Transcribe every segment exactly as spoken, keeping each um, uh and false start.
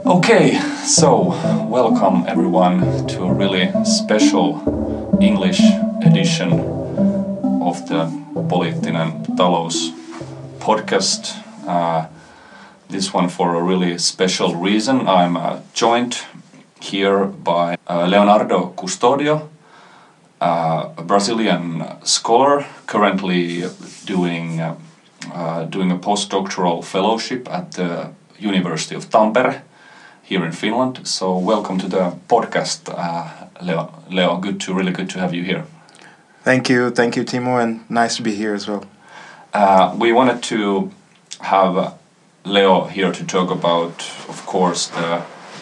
Okay, so welcome everyone to a really special English edition of the Poliittinen Talous podcast. Uh, this one for a really special reason. I'm uh, joined here by uh, Leonardo Custodio, uh, a Brazilian scholar currently doing uh, uh, doing a postdoctoral fellowship at the University of Tampere here in Finland. So welcome to the podcast, uh, Leo. Leo, good to really good to have you here. Thank you, thank you, Timo, and nice to be here as well. Uh, we wanted to have Leo here to talk about, of course, the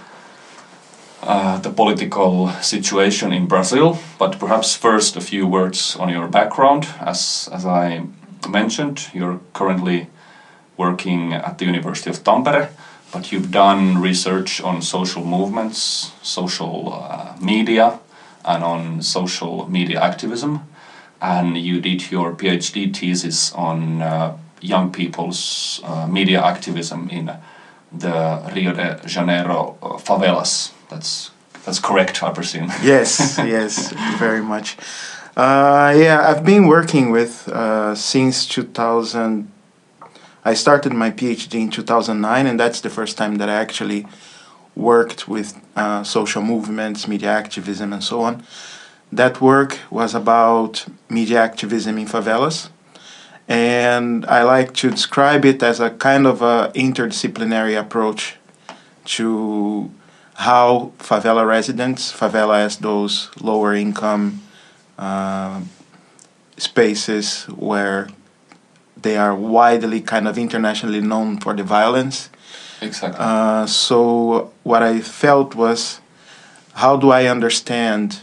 uh, the political situation in Brazil. But perhaps first a few words on your background. As as I mentioned, you're currently working at the University of Tampere. But you've done research on social movements, social uh, media, and on social media activism. And you did your PhD thesis on uh, young people's uh, media activism in the Rio de Janeiro uh, favelas. That's that's correct, I presume. Yes, yes, very much. Uh, yeah, I've been working with uh, since two thousand. I started my PhD in two thousand nine, and that's the first time that I actually worked with uh, social movements, media activism, and so on. That work was about media activism in favelas, and I like to describe it as a kind of a interdisciplinary approach to how favela residents, favela as those lower income uh, spaces where they are widely kind of internationally known for the violence. Exactly. Uh, so what I felt was, how do I understand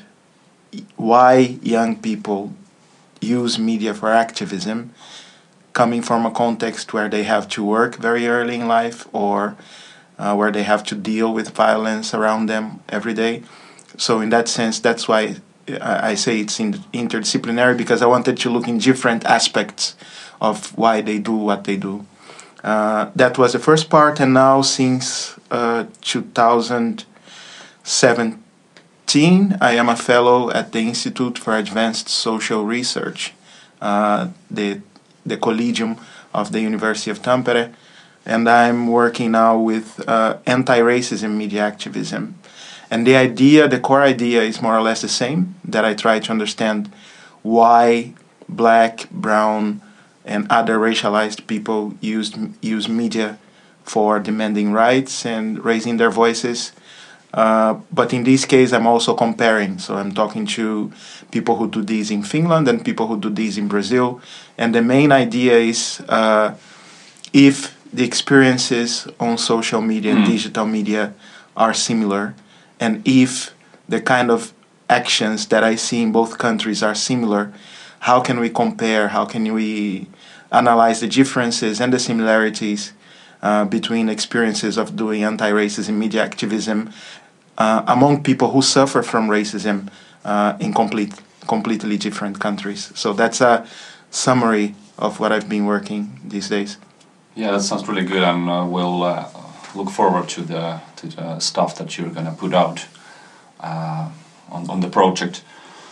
why young people use media for activism, coming from a context where they have to work very early in life, or uh, where they have to deal with violence around them every day. So in that sense, that's why I say it's interdisciplinary, because I wanted to look in different aspects of why they do what they do. Uh, that was the first part, and now since uh, two thousand seventeen, I am a fellow at the Institute for Advanced Social Research, uh, the the Collegium of the University of Tampere, and I'm working now with uh, anti-racism media activism. And the idea, the core idea is more or less the same, that I try to understand why black, brown, and other racialized people use, use media for demanding rights and raising their voices. Uh, but in this case, I'm also comparing. So I'm talking to people who do this in Finland and people who do this in Brazil. And the main idea is uh, if the experiences on social media and digital media are similar, and if the kind of actions that I see in both countries are similar, how can we compare, how can we analyze the differences and the similarities uh, between experiences of doing anti-racism media activism uh, among people who suffer from racism uh, in complete, completely different countries. So that's a summary of what I've been working these days. Yeah, that sounds really good, and uh, we'll uh, look forward to the to the stuff that you're gonna put out uh, on on the project.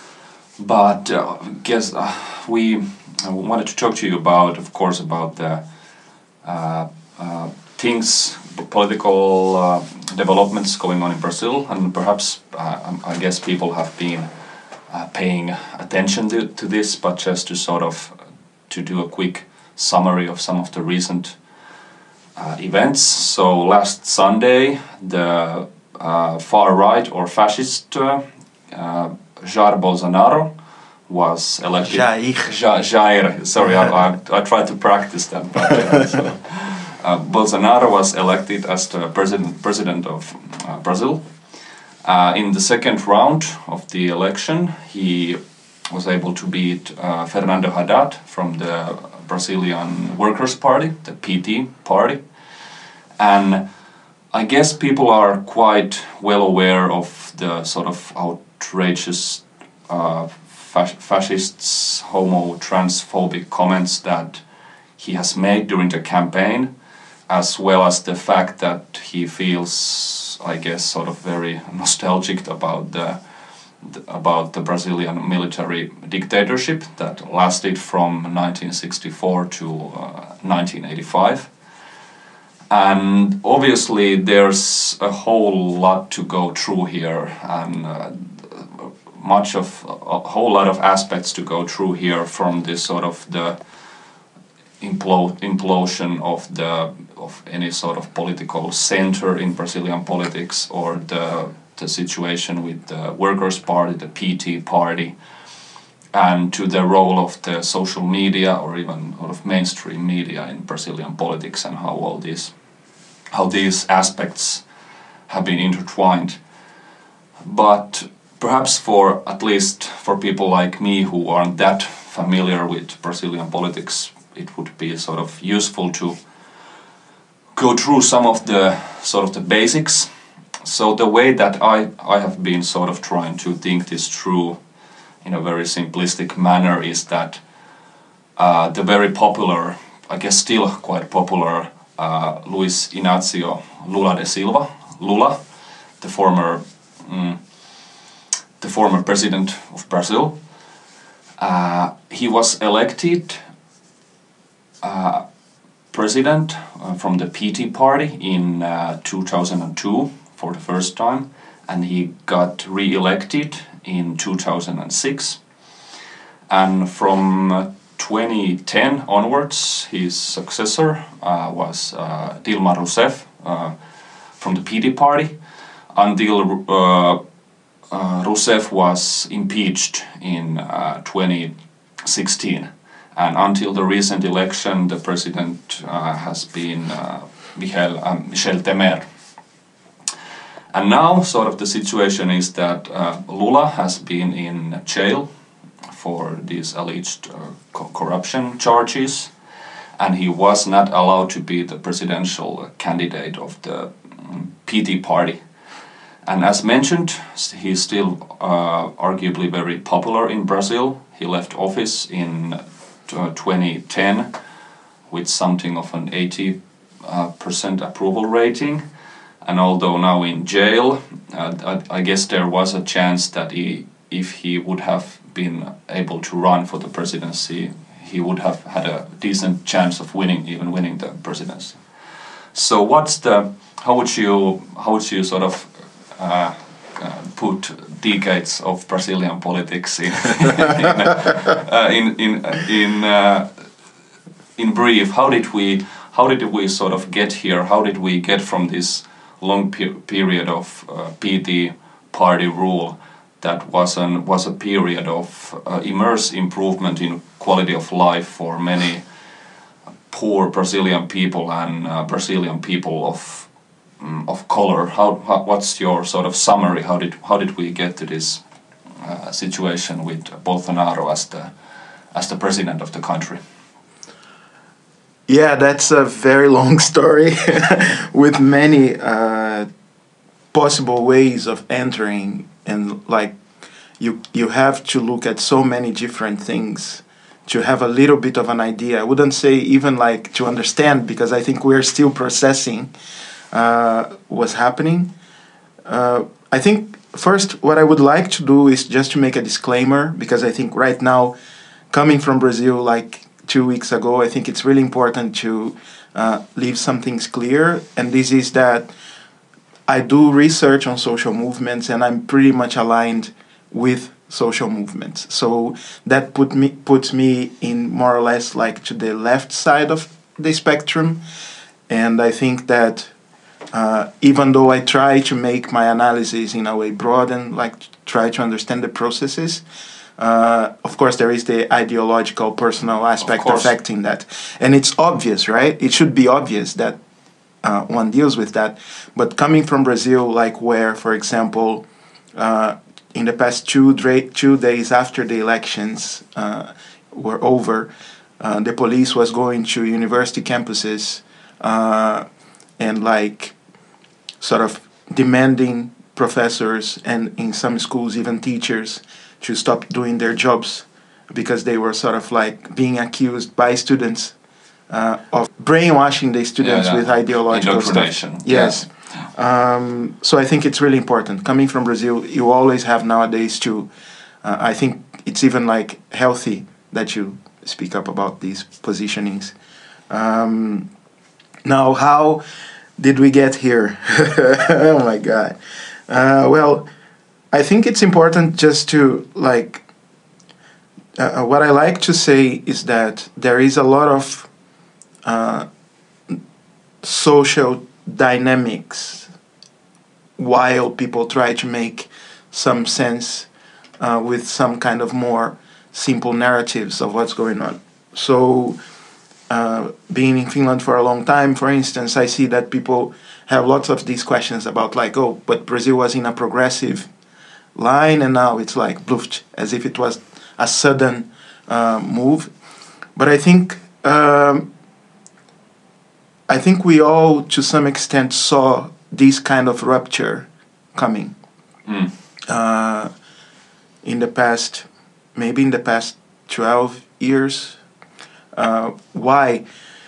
But uh, I guess uh, we I wanted to talk to you about, of course, about the uh, uh, things, political uh, developments going on in Brazil, and perhaps uh, I guess people have been uh, paying attention to, to this, but just to sort of to do a quick summary of some of the recent uh, events. So last Sunday, the uh, far right or fascist uh, uh, Jair Bolsonaro was elected. Jair. Ja, Jair. Sorry, I, I, I tried to practice that. But, uh, so, uh, Bolsonaro was elected as the president president of uh, Brazil. Uh, in the second round of the election, he was able to beat uh, Fernando Haddad from the Brazilian Workers' Party, the P T party. And I guess people are quite well aware of the sort of outrageous uh, fas- fascists, homo, transphobic comments that he has made during the campaign, as well as the fact that he feels is, I guess, sort of very nostalgic about the about the Brazilian military dictatorship that lasted from nineteen sixty-four to uh, nineteen eighty-five. And obviously there's a whole lot to go through here, and uh, much of a whole lot of aspects to go through here, from this sort of the implo implosion of the of any sort of political center in Brazilian politics, or the the situation with the Workers' Party, the P T party, and to the role of the social media or even sort of mainstream media in Brazilian politics, and how all these how these aspects have been intertwined. But perhaps for at least for people like me who aren't that familiar with Brazilian politics, it would be sort of useful to go through some of the sort of the basics. So the way that I, I have been sort of trying to think this through in a very simplistic manner is that uh, the very popular, I guess still quite popular, uh, Luiz Inácio Lula da Silva, Lula, the former mm, the former president of Brazil, uh, he was elected uh, president uh, from the P T party in uh, two thousand two for the first time, and he got re-elected in two thousand six. And from uh, twenty ten onwards, his successor uh, was uh, Dilma Rousseff uh, from the P T party, until uh, uh, Rousseff was impeached in uh, twenty sixteen. And until the recent election, the president uh, has been uh, Michel, uh, Michel Temer. And now, sort of the situation is that uh, Lula has been in jail for these alleged uh, co corruption charges, and he was not allowed to be the presidential candidate of the um, P T party. And as mentioned, he's still uh, arguably very popular in Brazil. He left office in uh, twenty ten with something of an eighty percent uh, approval rating. And although now in jail, uh, I, I guess there was a chance that he, if he would have been able to run for the presidency, he would have had a decent chance of winning, even winning the presidency. So what's the, how would you, how would you sort of uh, uh, put decades of Brazilian politics in, in, uh, in, in, in, uh, in brief? How did we, how did we sort of get here? How did we get from this long pe period of uh, P T party rule that was an was a period of uh, immense improvement in quality of life for many poor Brazilian people and uh, Brazilian people of um, of color? How, how what's your sort of summary? How did how did we get to this uh, situation with Bolsonaro as the as the president of the country? Yeah, that's a very long story with many uh, possible ways of entering, and like you you have to look at so many different things to have a little bit of an idea. I wouldn't say even like to understand, because I think we're still processing uh, what's happening. Uh, I think first what I would like to do is just to make a disclaimer, because I think right now, coming from Brazil like two weeks ago, I think it's really important to uh, leave some things clear, and this is that I do research on social movements, and I'm pretty much aligned with social movements. So that put me puts me in more or less like to the left side of the spectrum, and I think that uh, even though I try to make my analysis in a way broad and like try to understand the processes, Uh, of course, there is the ideological, personal aspect affecting that. And it's obvious, right? It should be obvious that uh, one deals with that. But coming from Brazil, like where, for example, uh, in the past two, two days after the elections uh, were over, uh, the police was going to university campuses uh, and like sort of demanding professors and in some schools even teachers to stop doing their jobs because they were sort of like being accused by students uh, of brainwashing the students yeah, yeah. with ideological Indoctrination. stuff. Yes. Yeah. Um, so I think it's really important. Coming from Brazil, you always have nowadays to, uh, I think it's even like healthy that you speak up about these positionings. Um, now, how did we get here? Oh my God. Uh, well, I think it's important just to like, uh, what I like to say is that there is a lot of uh, social dynamics while people try to make some sense uh, with some kind of more simple narratives of what's going on. So, uh, being in Finland for a long time, for instance, I see that people have lots of these questions about like, oh, but Brazil was in a progressive line and now it's like bluffed, as if it was a sudden uh, move. But I think um, I think we all, to some extent, saw this kind of rupture coming Mm. uh, in the past, maybe in the past twelve years. Uh, why?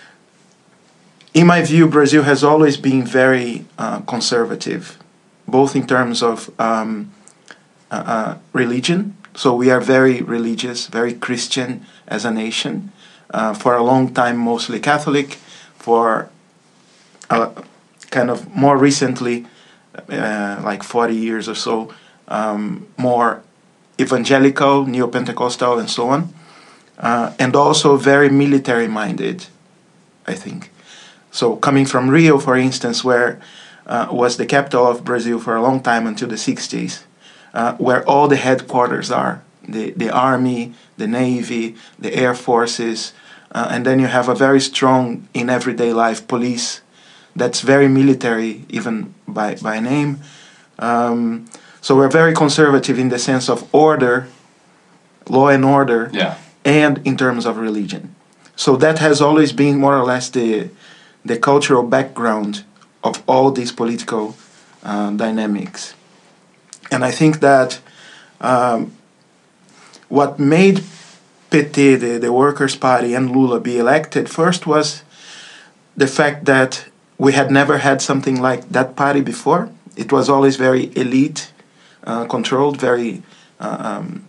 In my view, Brazil has always been very uh, conservative, both in terms of um, uh, uh, religion. So we are very religious, very Christian as a nation. Uh, for a long time, mostly Catholic. For uh, kind of more recently, uh, like forty years or so, um, more evangelical, neo-Pentecostal, and so on. Uh, and also very military-minded, I think. So coming from Rio, for instance, where uh, was the capital of Brazil for a long time until the sixties, uh, where all the headquarters are, the, the army, the navy, the air forces, uh, and then you have a very strong, in everyday life, police that's very military, even by, by name. Um, so we're very conservative in the sense of order, law and order, Yeah. and in terms of religion. So that has always been more or less the the cultural background of all these political uh, dynamics. And I think that um, what made P T, the, the Workers' Party, and Lula be elected first was the fact that we had never had something like that party before. It was always very elite uh, controlled, very uh, um,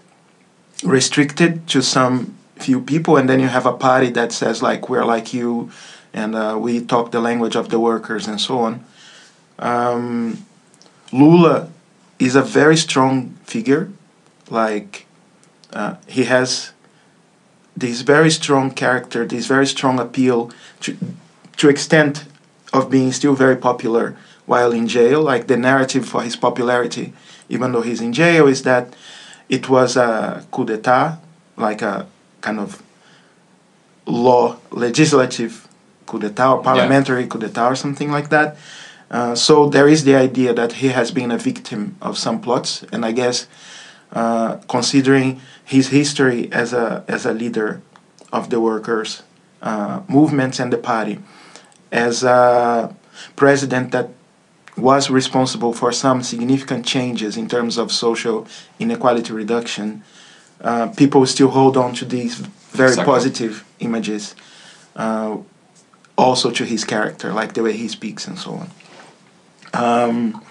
restricted to some few people, and then you have a party that says like, we're like you, and uh, we talk the language of the workers and so on. Um, Lula is a very strong figure. Like uh, he has this very strong character, this very strong appeal to to extent of being still very popular while in jail. Like the narrative for his popularity, even though he's in jail, is that it was a coup d'état, like a kind of law, legislative coup d'état or parliamentary yeah. coup d'état or something like that. Uh, so there is the idea that he has been a victim of some plots, and I guess uh, considering his history as a as a leader of the workers' uh, movements and the party, as a president that was responsible for some significant changes in terms of social inequality reduction, uh, people still hold on to these very exactly. positive images, uh, also to his character, like the way he speaks and so on. Um,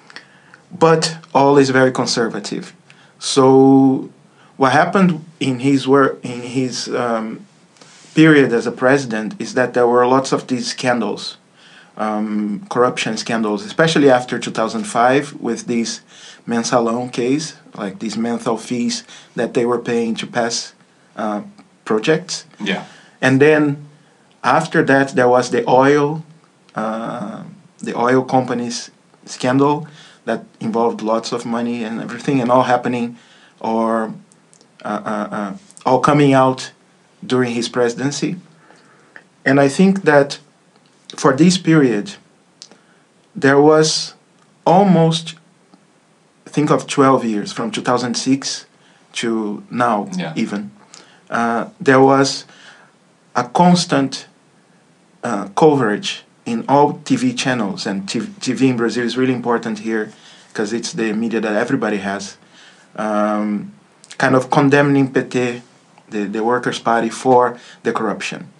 but all is very conservative. So what happened in his work, in his um, period as a president, is that there were lots of these scandals, um, corruption scandals, especially after two thousand five with this mensalão case, like these menthol fees that they were paying to pass uh, projects. Yeah. And then after that, there was the oil, uh, the oil companies scandal that involved lots of money and everything, and all happening, or uh, uh, uh, all coming out during his presidency. And I think that for this period, there was almost, think of twelve years, from two thousand six to now, yeah. even. Uh, there was a constant uh, coverage in all T V channels, and T V in Brazil is really important here because it's the media that everybody has, um, kind of condemning P T, the, the Workers' Party, for the corruption.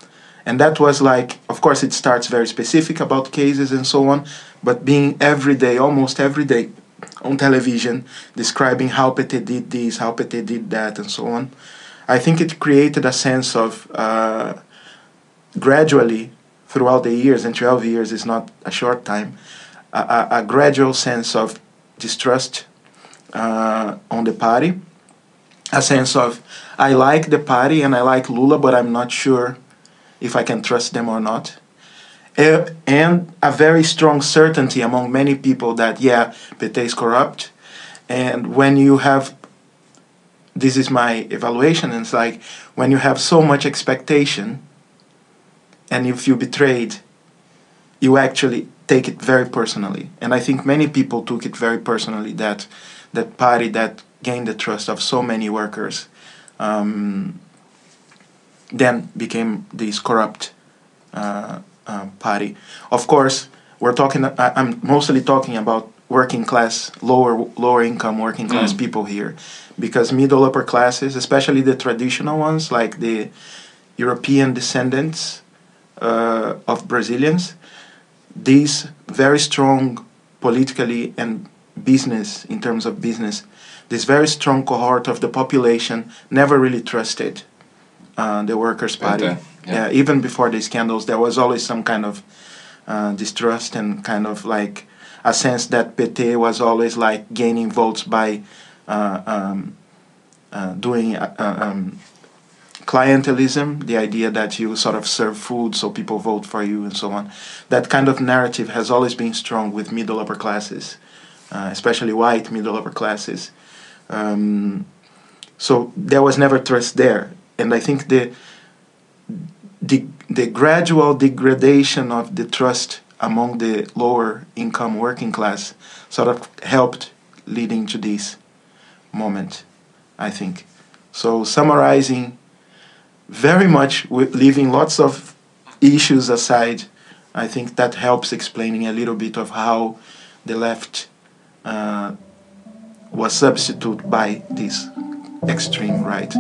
And that was like, of course, it starts very specific about cases and so on, but being every day, almost every day, on television, describing how P T did this, how P T did that, and so on, I think it created a sense of, uh, gradually, throughout the years, and twelve years is not a short time, a, a, a gradual sense of distrust uh, on the party, a sense of, I like the party and I like Lula, but I'm not sure if I can trust them or not. Uh, and a very strong certainty among many people that, yeah, P T is corrupt. And when you have, this is my evaluation, and it's like, when you have so much expectation, and if you betrayed, you actually take it very personally. And I think many people took it very personally, that that party that gained the trust of so many workers um, then became this corrupt uh, uh, party. Of course, we're talking. I, I'm mostly talking about working class, lower lower income working class mm. people here, because middle upper classes, especially the traditional ones, like the European descendants uh, of Brazilians, these very strong politically and business, in terms of business, this very strong cohort of the population never really trusted uh, the Workers' Party. Okay. Yeah. Uh, even before the scandals, there was always some kind of uh, distrust and kind of like a sense that P T was always like gaining votes by uh, um, uh, doing uh, um, clientelism, the idea that you sort of serve food so people vote for you and so on. That kind of narrative has always been strong with middle upper classes, uh, especially white middle upper classes. Um, so there was never trust there. And I think the, the, the gradual degradation of the trust among the lower income working class sort of helped leading to this moment, I think. So summarizing, very much with leaving lots of issues aside, I think that helps explaining a little bit of how the left uh, was substituted by this extreme right.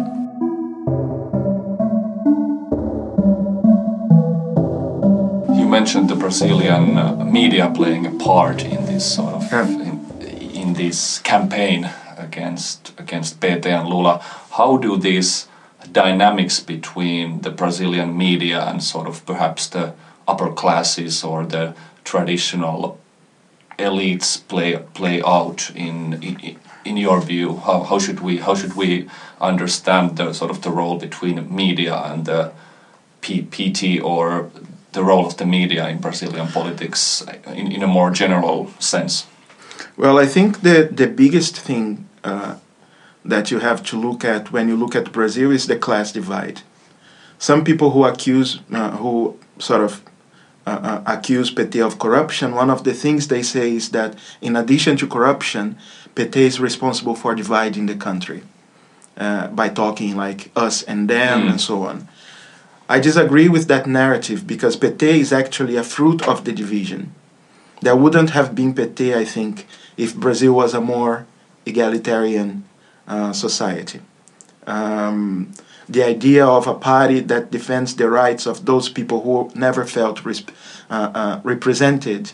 You mentioned the Brazilian uh, media playing a part in this sort of yeah. in, in this campaign against against P T and Lula. How do these dynamics between the Brazilian media and sort of perhaps the upper classes or the traditional elites play play out in in, in your view? How how should we how should we understand the sort of the role between media and the P, PT, or the role of the media in Brazilian politics in, in a more general sense? Well, I think the the biggest thing uh, that you have to look at when you look at Brazil is the class divide. Some people who accuse, uh, who sort of uh, uh, accuse P T of corruption, one of the things they say is that in addition to corruption, P T is responsible for dividing the country uh, by talking like us and them mm. and so on. I disagree with that narrative because P T is actually a fruit of the division. There wouldn't have been P T, I think, if Brazil was a more egalitarian uh, society. Um, the idea of a party that defends the rights of those people who never felt resp- uh, uh, represented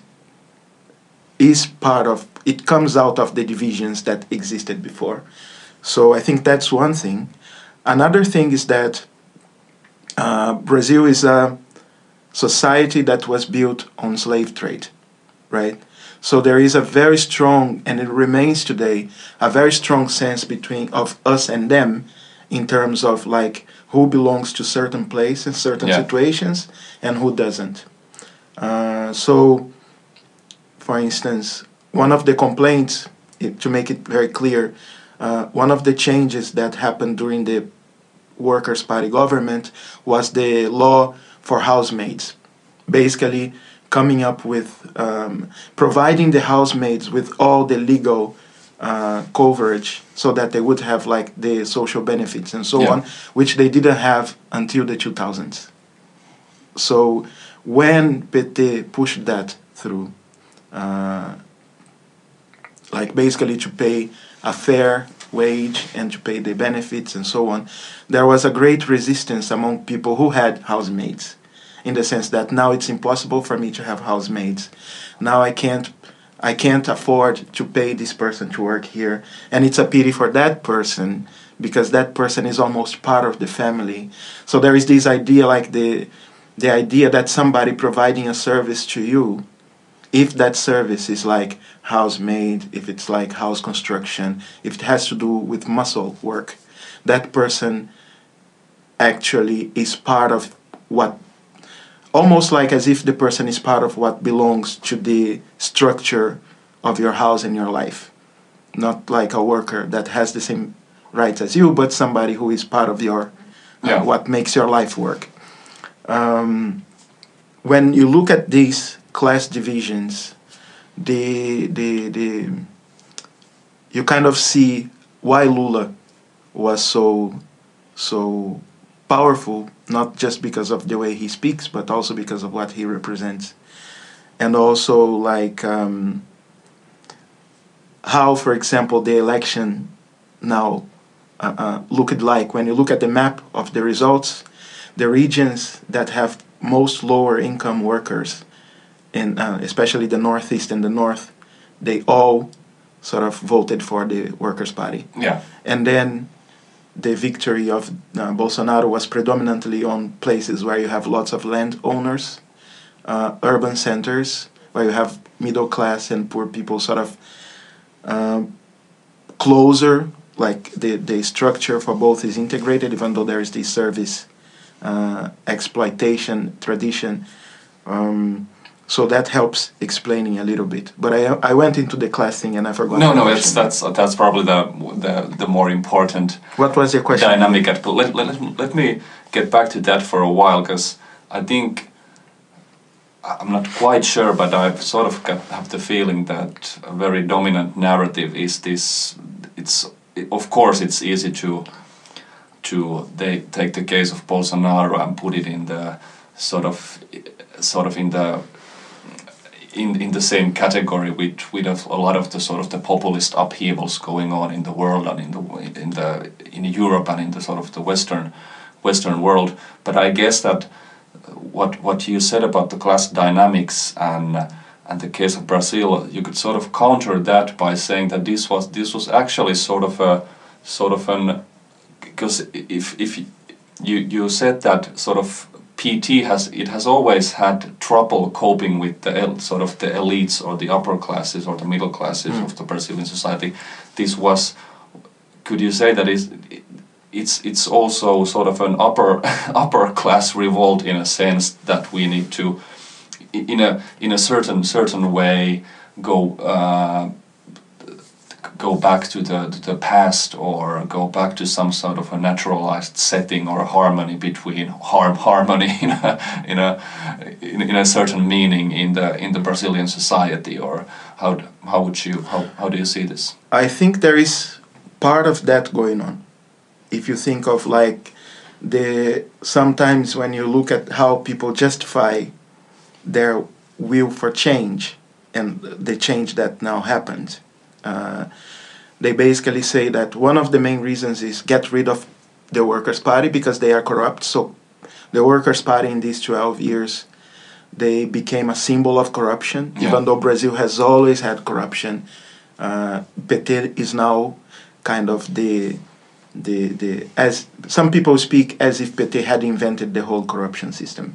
is part of, it comes out of the divisions that existed before. So I think that's one thing. Another thing is that uh, Brazil is a society that was built on slave trade, right? So there is a very strong, and it remains today, a very strong sense between of us and them in terms of like who belongs to certain place in certain yeah. situations and who doesn't. Uh, so, for instance, one of the complaints, to make it very clear, uh, one of the changes that happened during the Workers' Party government was the law for housemaids, basically coming up with, um, providing the housemaids with all the legal uh, coverage so that they would have like the social benefits and so yeah. on, which they didn't have until the two thousands. So when P T pushed that through, uh, like basically to pay a fair wage and to pay the benefits and so on, there was a great resistance among people who had housemaids. in the sense that now it's impossible for me to have housemaids. Now I can't I can't afford to pay this person to work here. And it's a pity for that person because that person is almost part of the family. So there is this idea, like the the idea that somebody providing a service to you, if that service is like housemaid, if it's like house construction, if it has to do with muscle work, that person actually is part of what, almost like as if the person is part of what belongs to the structure of your house and your life. Not like a worker that has the same rights as you, but somebody who is part of your, uh, Yeah. what makes your life work. Um, when you look at these class divisions, the, the, the, you kind of see why Lula was so, so powerful, not just because of the way he speaks, but also because of what he represents. And also, like, um, how, for example, the election now uh, uh, looked like. When you look at the map of the results, the regions that have most lower income workers, in, uh, especially the Northeast and the North, they all sort of voted for the Workers' Party. Yeah. And then the victory of uh, Bolsonaro was predominantly on places where you have lots of landowners, uh, urban centers, where you have middle class and poor people sort of uh, closer, like the, the structure for both is integrated, even though there is this service uh, exploitation tradition. Um, so that helps explaining a little bit. But I I went into the class thing and I forgot. No, the no, question. it's that's that's probably the the the more important What was your question? dynamic at. But let, let let me get back to that for a while, because I think I'm not quite sure, but I've sort of got, have the feeling that a very dominant narrative is this. It's of course it's easy to to they take the case of Bolsonaro and put it in the sort of sort of in the in in the same category with with a, a lot of the sort of the populist upheavals going on in the world and in the in the in Europe and in the sort of the western western world. But I guess that what what you said about the class dynamics and and the case of Brazil, you could sort of counter that by saying that this was this was actually sort of a sort of an, because if if you you said that sort of P T has it has always had trouble coping with the el, sort of the elites or the upper classes or the middle classes mm. of the Brazilian society. This was, could you say that is it's it's also sort of an upper upper class revolt in a sense that we need to in a in a certain certain way go uh, go back to the to the past or go back to some sort of a naturalized setting or a harmony between harm harmony in a in a in, in a certain meaning in the in the Brazilian society, or how how would you how, how do you see this? I think there is part of that going on. If you think of like the sometimes when you look at how people justify their will for change and the change that now happened, uh, they basically say that one of the main reasons is get rid of the Workers' Party because they are corrupt. So the Workers' Party in these twelve years, they became a symbol of corruption. Yeah. Even though Brazil has always had corruption, uh, P T is now kind of the the the as some people speak as if P T had invented the whole corruption system.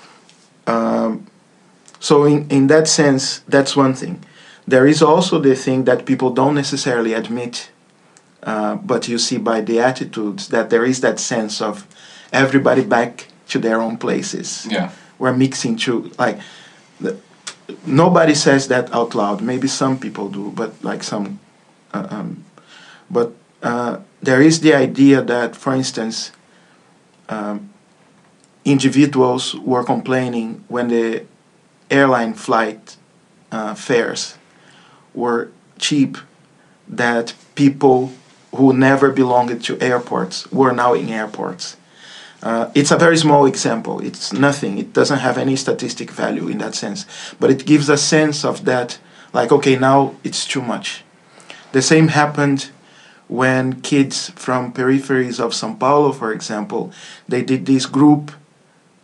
Um, so in, in that sense, that's one thing. There is also the thing that people don't necessarily admit, uh, but you see by the attitudes that there is that sense of everybody back to their own places. Yeah, we're mixing to like the, nobody says that out loud. Maybe some people do, but like some, uh, um, but uh, there is the idea that, for instance, um, individuals were complaining when the airline flight uh, fares were cheap, that people who never belonged to airports were now in airports. Uh, it's a very small example. It's nothing. It doesn't have any statistic value in that sense. But it gives a sense of that, like, okay, now it's too much. The same happened when kids from peripheries of São Paulo, for example, they did this group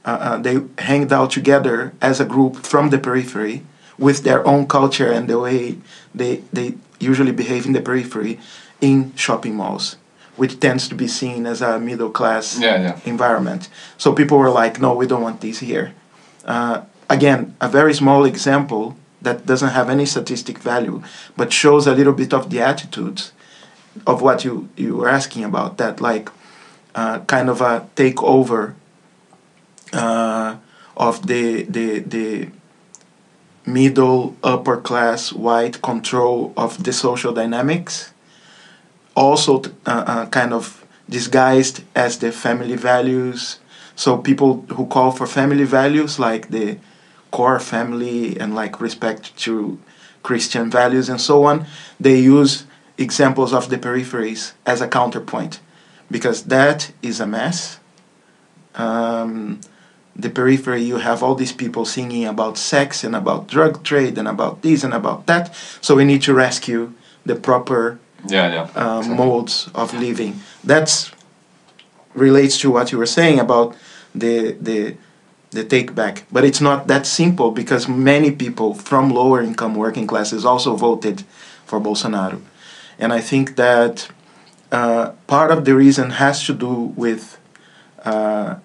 uh, uh, they hanged out together as a group from the periphery with their own culture and the way they, they usually behave in the periphery in shopping malls, which tends to be seen as a middle class Yeah, yeah. environment. So people were like, no, we don't want these here. Uh, again, a very small example that doesn't have any statistic value, but shows a little bit of the attitudes of what you, you were asking about, that like uh, kind of a takeover uh, of the, the, the middle, upper class, white control of the social dynamics, also uh, uh, kind of disguised as the family values. So people who call for family values, like the core family and like respect to Christian values and so on, they use examples of the peripheries as a counterpoint, because that is a mess. Um, the periphery, you have all these people singing about sex and about drug trade and about this and about that, so we need to rescue the proper Yeah, yeah. uh, Exactly. modes of living. That's relates to what you were saying about the the the take back, but it's not that simple, because many people from lower income working classes also voted for Bolsonaro, and I think that uh, part of the reason has to do with uh,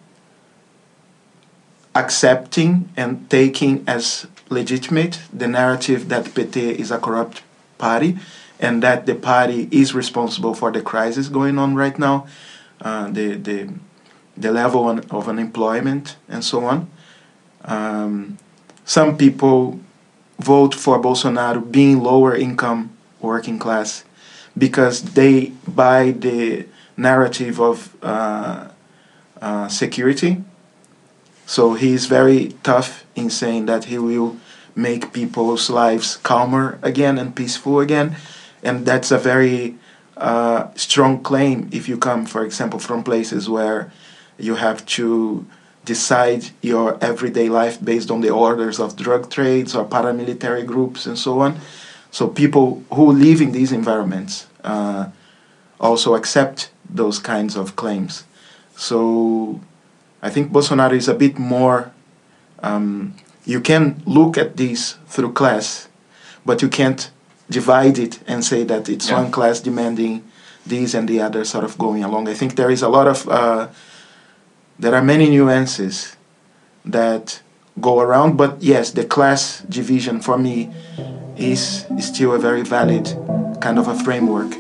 accepting and taking as legitimate the narrative that P T is a corrupt party, and that the party is responsible for the crisis going on right now, uh, the, the, the level of unemployment and so on. Um, some people vote for Bolsonaro being lower income working class because they buy the narrative of uh, uh, security. So he's very tough in saying that he will make people's lives calmer again and peaceful again. And that's a very uh, strong claim if you come, for example, from places where you have to decide your everyday life based on the orders of drug trades or paramilitary groups and so on. So people who live in these environments uh, also accept those kinds of claims. So I think Bolsonaro is a bit more, um, you can look at this through class, but you can't divide it and say that it's Yeah. one class demanding this and the other sort of going along. I think there is a lot of, uh, there are many nuances that go around, but yes, the class division for me is, is still a very valid kind of a framework.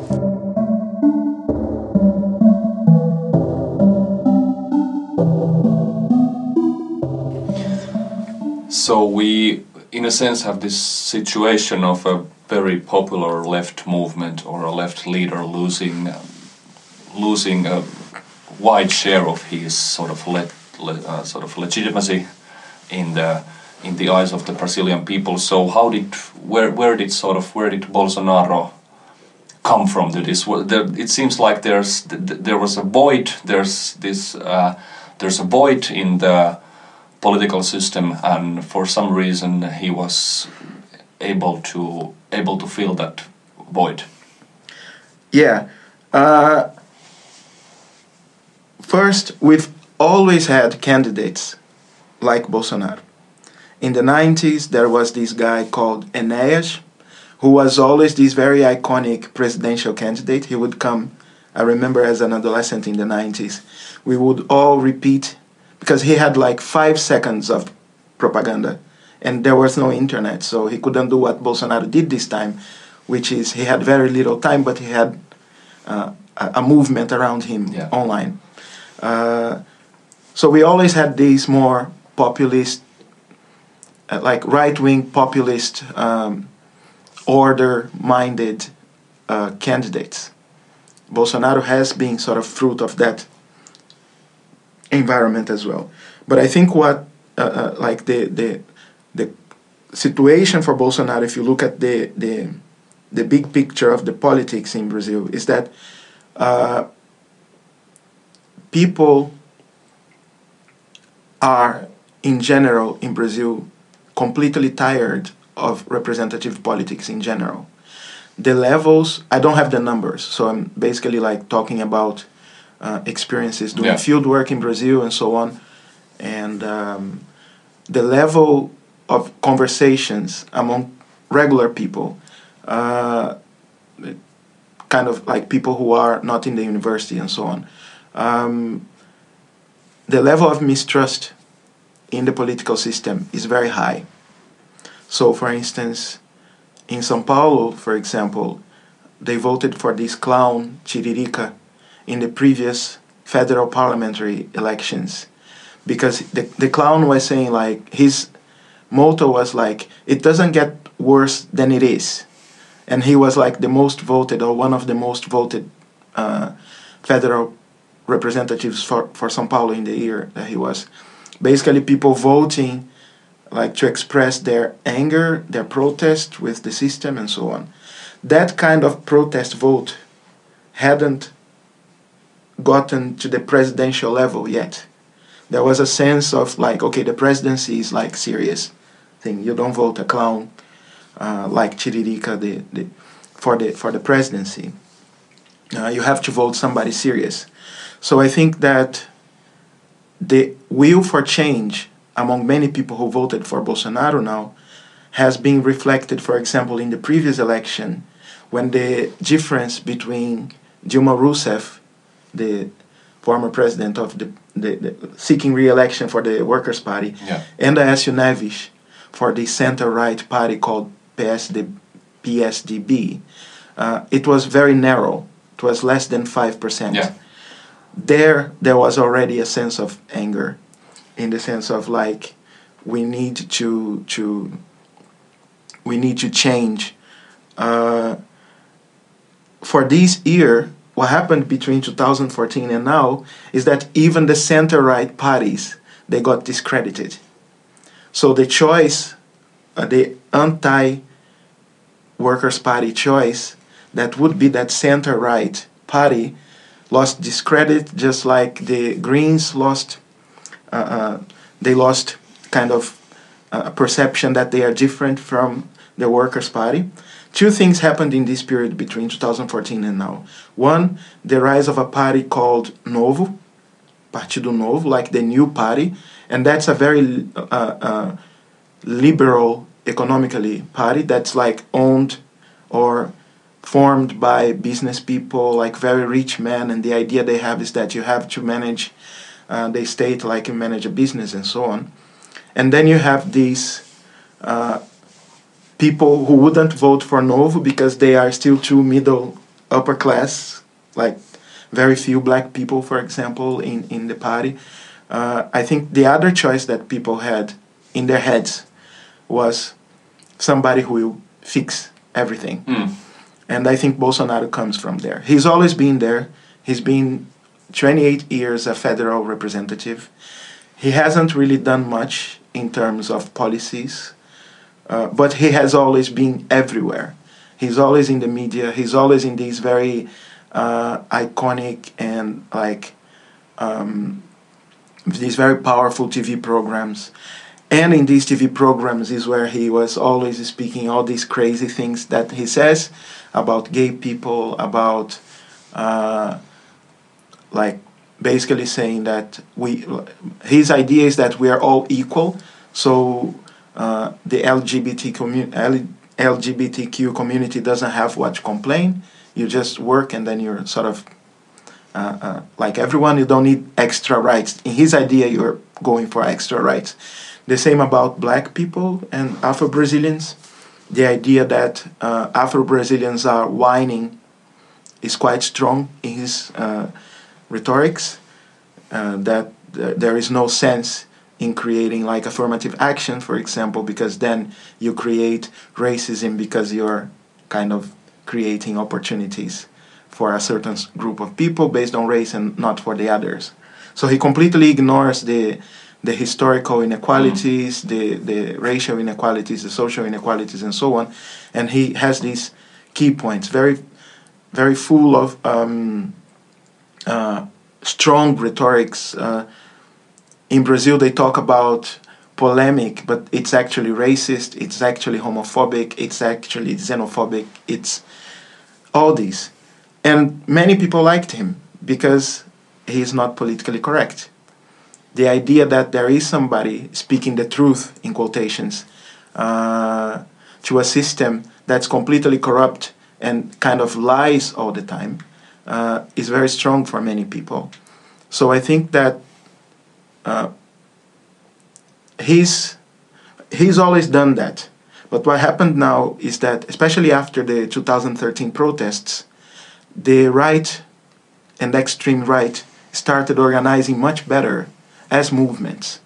So we, in a sense, have this situation of a very popular left movement or a left leader losing, um, losing a wide share of his sort of le- le- uh, sort of legitimacy in the in the eyes of the Brazilian people. So how did where where did sort of where did Bolsonaro come from to this? Well, there, it seems like there's th- there was a void. There's this uh, there's a void in the political system, and for some reason he was able to able to fill that void. Yeah. Uh, first, we've always had candidates like Bolsonaro. In the nineties, there was this guy called Enéas, who was always this very iconic presidential candidate. He would come, I remember as an adolescent in the nineties, we would all repeat, because he had like five seconds of propaganda, and there was no internet, so he couldn't do what Bolsonaro did this time, which is he had very little time, but he had uh, a, a movement around him Yeah. online. Uh, so we always had these more populist, uh, like right-wing populist, um, order-minded uh, candidates. Bolsonaro has been sort of fruit of that environment as well. But I think what, uh, uh, like the, the the situation for Bolsonaro, if you look at the the the big picture of the politics in Brazil, is that uh, people are, in general, in Brazil, completely tired of representative politics in general. The levels, I don't have the numbers, so I'm basically like talking about uh, experiences doing Yeah. field work in Brazil and so on. and um, the level of conversations among regular people, uh, kind of like people who are not in the university and so on, um, the level of mistrust in the political system is very high. So, for instance, in São Paulo, for example, they voted for this clown, Tiririca, in the previous federal parliamentary elections. Because the, the clown was saying, like, his motto was like, it doesn't get worse than it is. And he was like the most voted, or one of the most voted uh, federal representatives for, for São Paulo in the year that he was. Basically, people voting like to express their anger, their protest with the system and so on. That kind of protest vote hadn't gotten to the presidential level yet. There was a sense of like, okay, the presidency is like serious thing. You don't vote a clown uh, like Tiririca the, the, for the for the presidency. Uh, you have to vote somebody serious. So I think that the will for change among many people who voted for Bolsonaro now has been reflected, for example, in the previous election, when the difference between Dilma Rousseff, the former president of the, the, the seeking re-election for the Workers' Party, yeah. and Aécio Neves for the center-right party called P S D B, uh, it was very narrow. It was less than five percent. Yeah. There, there was already a sense of anger, in the sense of like, we need to to we need to change. Uh, for this year, what happened between two thousand fourteen and now is that even the center-right parties, they got discredited. So the choice, uh, the anti-Workers' Party choice, that would be that center-right party, lost discredit, just like the Greens lost. Uh, uh, they lost kind of a perception that they are different from the Workers' Party. Two things happened in this period between two thousand fourteen and now. One, the rise of a party called Novo, Partido Novo, like the new party, and that's a very uh, uh, liberal, economically party that's like owned or formed by business people, like very rich men, and the idea they have is that you have to manage uh, the state like you manage a business and so on. And then you have these uh, people who wouldn't vote for Novo because they are still too middle upper class, like very few black people, for example, in, in the party. Uh, I think the other choice that people had in their heads was somebody who will fix everything. Mm. And I think Bolsonaro comes from there. He's always been there. He's been twenty-eight years a federal representative. He hasn't really done much in terms of policies, uh, but he has always been everywhere. He's always in the media. He's always in these very uh, iconic and like um, these very powerful T V programs. And in these T V programs is where he was always speaking all these crazy things that he says about gay people, about uh, like basically saying that we, his idea is that we are all equal. So uh, the L G B T commu- L G B T Q community doesn't have what to complain. You just work and then you're sort of uh, uh, like everyone. You don't need extra rights. In his idea, you're going for extra rights. The same about black people and Afro-Brazilians. The idea that uh, Afro-Brazilians are whining is quite strong in his uh, rhetorics, uh, that th- there is no sense in creating like affirmative action, for example, because then you create racism because you're kind of creating opportunities for a certain group of people based on race and not for the others. So he completely ignores the the historical inequalities, mm. the, the racial inequalities, the social inequalities, and so on. And he has these key points, very, very full of um, uh, strong rhetorics. Uh, in Brazil, they talk about polemic, but it's actually racist, it's actually homophobic, it's actually xenophobic, it's all these. And many people liked him because he's not politically correct. the idea that there is somebody speaking the truth, in quotations, uh, to a system that's completely corrupt and kind of lies all the time, uh, is very strong for many people. So I think that uh, he's, he's always done that. But what happened now is that, especially after the two thousand thirteen protests, the right and extreme right started organizing much better as movements.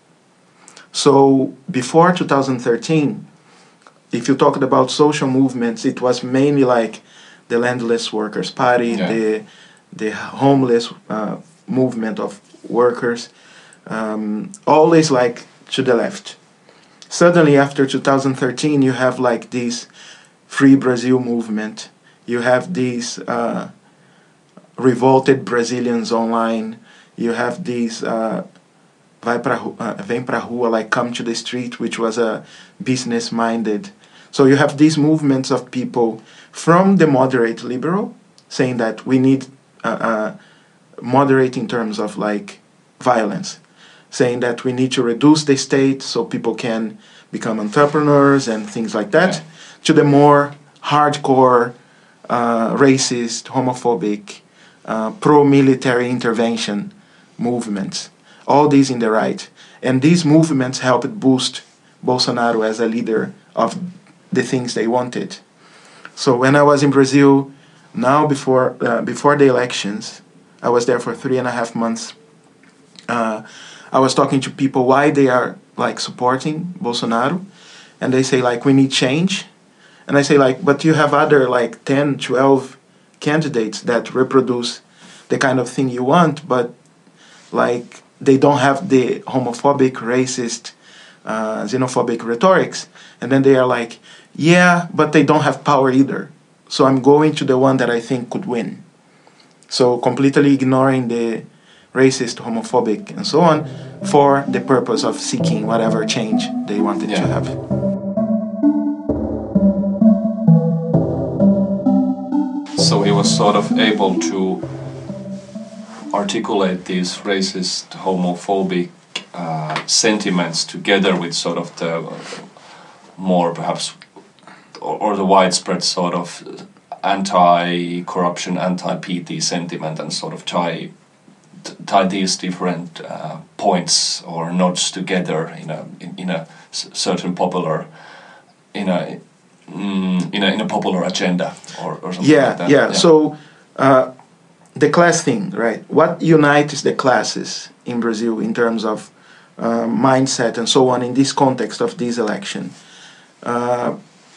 So before two thousand thirteen, if you talked about social movements, it was mainly like the Landless Workers' Party, yeah. the the homeless uh, movement of workers, um, always like to the left. Suddenly, after two thousand thirteen, you have like this Free Brazil movement. You have these uh, revolted Brazilians online. You have these uh, Vai pra, uh, Vem pra Rua, like come to the street, which was a business-minded. So you have these movements of people from the moderate liberal saying that we need uh, uh, moderate in terms of like violence, saying that we need to reduce the state so people can become entrepreneurs and things like that, yeah. to the more hardcore, uh, racist, homophobic, uh, pro-military intervention movements. All these in the right. And these movements helped boost Bolsonaro as a leader of the things they wanted. So when I was in Brazil, now before uh, before the elections, I was there for three and a half months. Uh, I was talking to people why they are like supporting Bolsonaro, and they say like we need change, and I say like but you have other like ten, twelve candidates that reproduce the kind of thing you want, but like they don't have the homophobic, racist, uh, xenophobic rhetorics, and then they are like, yeah, but they don't have power either. So I'm going to the one that I think could win. So completely ignoring the racist, homophobic, and so on for the purpose of seeking whatever change they wanted yeah. to have. So he was sort of able to articulate these racist, homophobic uh, sentiments together with sort of the more perhaps or, or the widespread sort of anti-corruption, anti-P T sentiment, and sort of tie tie these different uh, points or nods together in a in, in a certain popular in a mm, in a in a popular agenda or, or something yeah, like that. Yeah, yeah. So uh, the class thing, right? What unites the classes in Brazil in terms of uh, mindset and so on in this context of this election? Uh,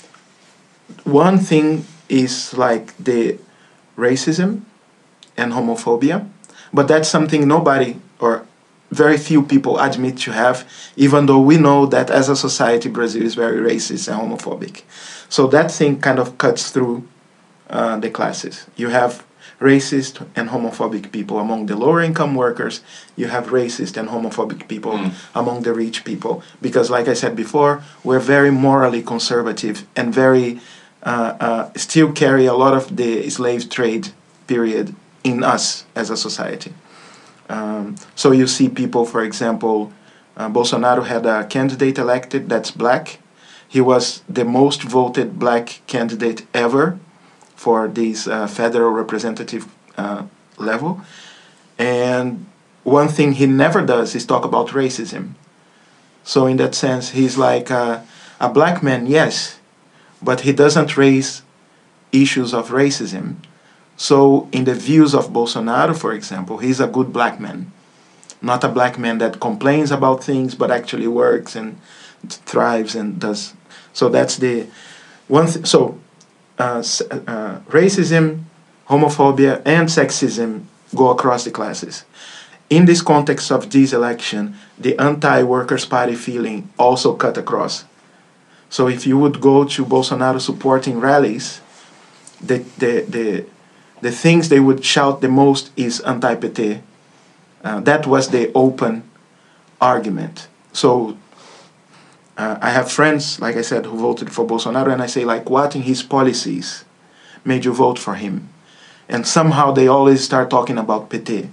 one thing is like the racism and homophobia, but that's something nobody or very few people admit to have, even though we know that as a society Brazil is very racist and homophobic. So that thing kind of cuts through uh, the classes. You have racist and homophobic people among the lower income workers. You have racist and homophobic people mm. among the rich people. Because like I said before, we're very morally conservative and very uh, uh, still carry a lot of the slave trade period in us as a society. Um, so you see people, for example, uh, Bolsonaro had a candidate elected that's black. He was the most voted black candidate ever for this uh, federal representative uh, level. And one thing he never does is talk about racism. So in that sense, he's like a, a black man, yes, but he doesn't raise issues of racism. So in the views of Bolsonaro, for example, he's a good black man. Not a black man that complains about things, but actually works and thrives and does. So that's the one thing. So uh, uh, racism, homophobia, and sexism go across the classes. In this context of this election, the anti-Workers' Party feeling also cut across. So if you would go to Bolsonaro supporting rallies, the the the the things they would shout the most is anti-P T. Uh, that was the open argument. So uh, I have friends, like I said, who voted for Bolsonaro, and I say, like, what in his policies made you vote for him? And somehow they always start talking about P T.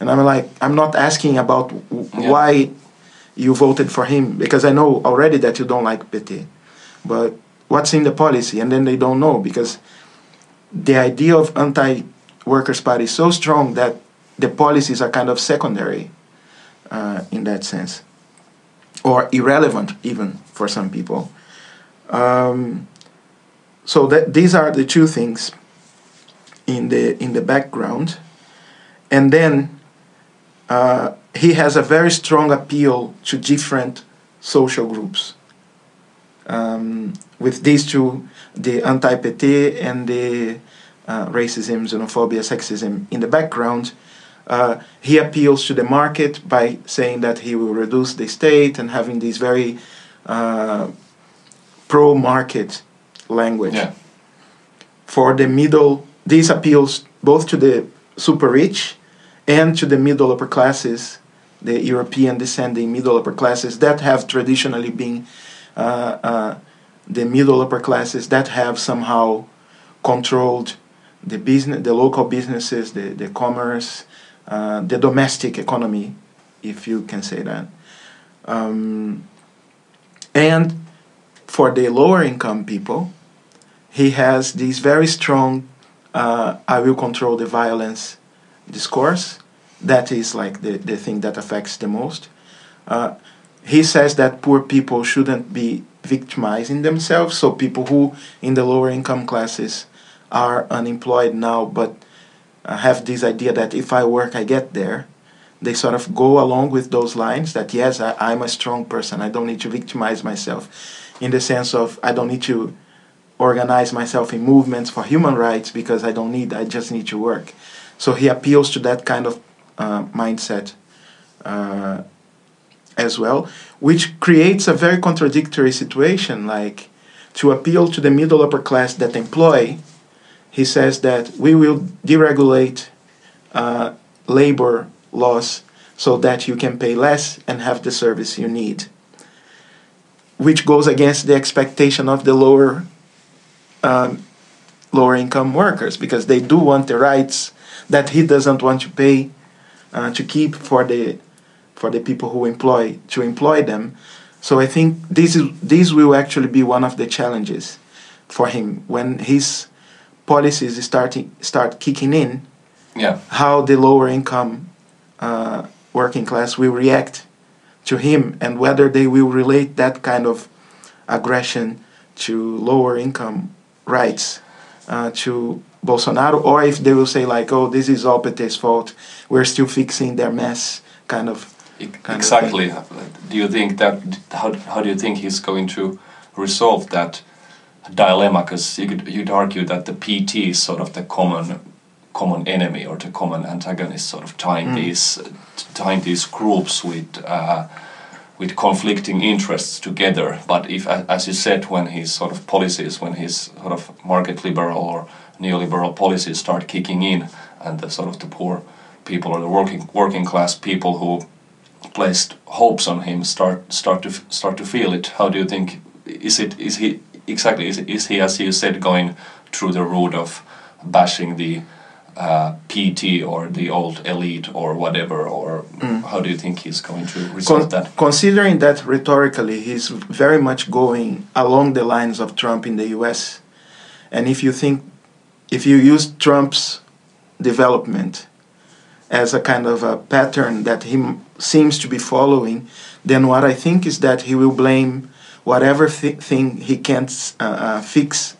And I'm like, I'm not asking about w- Yeah. why you voted for him, because I know already that you don't like P T. But what's in the policy? And then they don't know, because the idea of anti-workers' party is so strong that the policies are kind of secondary uh, in that sense, or irrelevant even for some people. Um, so that these are the two things in the in the background, and then uh, he has a very strong appeal to different social groups. Um, with these two, the anti-P T and the uh, racism, xenophobia, sexism in the background, uh, he appeals to the market by saying that he will reduce the state and having this very uh, pro-market language. Yeah. For the middle, these appeals both to the super rich and to the middle upper classes, the European descending middle upper classes that have traditionally been uh, uh, the middle upper classes that have somehow controlled the business, the local businesses, the, the commerce, uh, the domestic economy, if you can say that. Um, and for the lower income people, he has this very strong uh, I will control the violence discourse. That is like the, the thing that affects the most. Uh, he says that poor people shouldn't be victimizing themselves, so people who in the lower income classes are unemployed now but uh, have this idea that if I work I get there, they sort of go along with those lines that yes, I, I'm a strong person, I don't need to victimize myself, in the sense of I don't need to organize myself in movements for human rights because I don't need, I just need to work. So he appeals to that kind of uh, mindset uh, as well, which creates a very contradictory situation. Like, to appeal to the middle upper class that employ, he says that we will deregulate uh, labor laws so that you can pay less and have the service you need, which goes against the expectation of the lower um, lower income workers, because they do want the rights that he doesn't want to pay uh, to keep for the for the people who employ to employ them. So I think this is this will actually be one of the challenges for him when his policies starting start kicking in. Yeah. How the lower income uh, working class will react to him, and whether they will relate that kind of aggression to lower income rights uh, to Bolsonaro, or if they will say like, oh, this is all P T's fault, we're still fixing their mess, kind of. Kind Exactly. Of do you think that, how, how do you think he's going to resolve that dilemma? Because you could, you'd argue that the P T is sort of the common common enemy or the common antagonist, sort of tying Mm. these tying these groups with uh, with conflicting interests together. But if, as you said, when his sort of policies, when his sort of market liberal or neoliberal policies start kicking in, and the sort of the poor people or the working working class people who placed hopes on him start start to start to feel it. How do you think, is it is he exactly is, is he, as you said, going through the route of bashing the uh, P T or the old elite or whatever, or Mm. how do you think he's going to resolve Con- that? Considering that rhetorically he's very much going along the lines of Trump in the U S, and if you think, if you use Trump's development as a kind of a pattern that he m- seems to be following, then what I think is that he will blame whatever th- thing he can't uh, uh, fix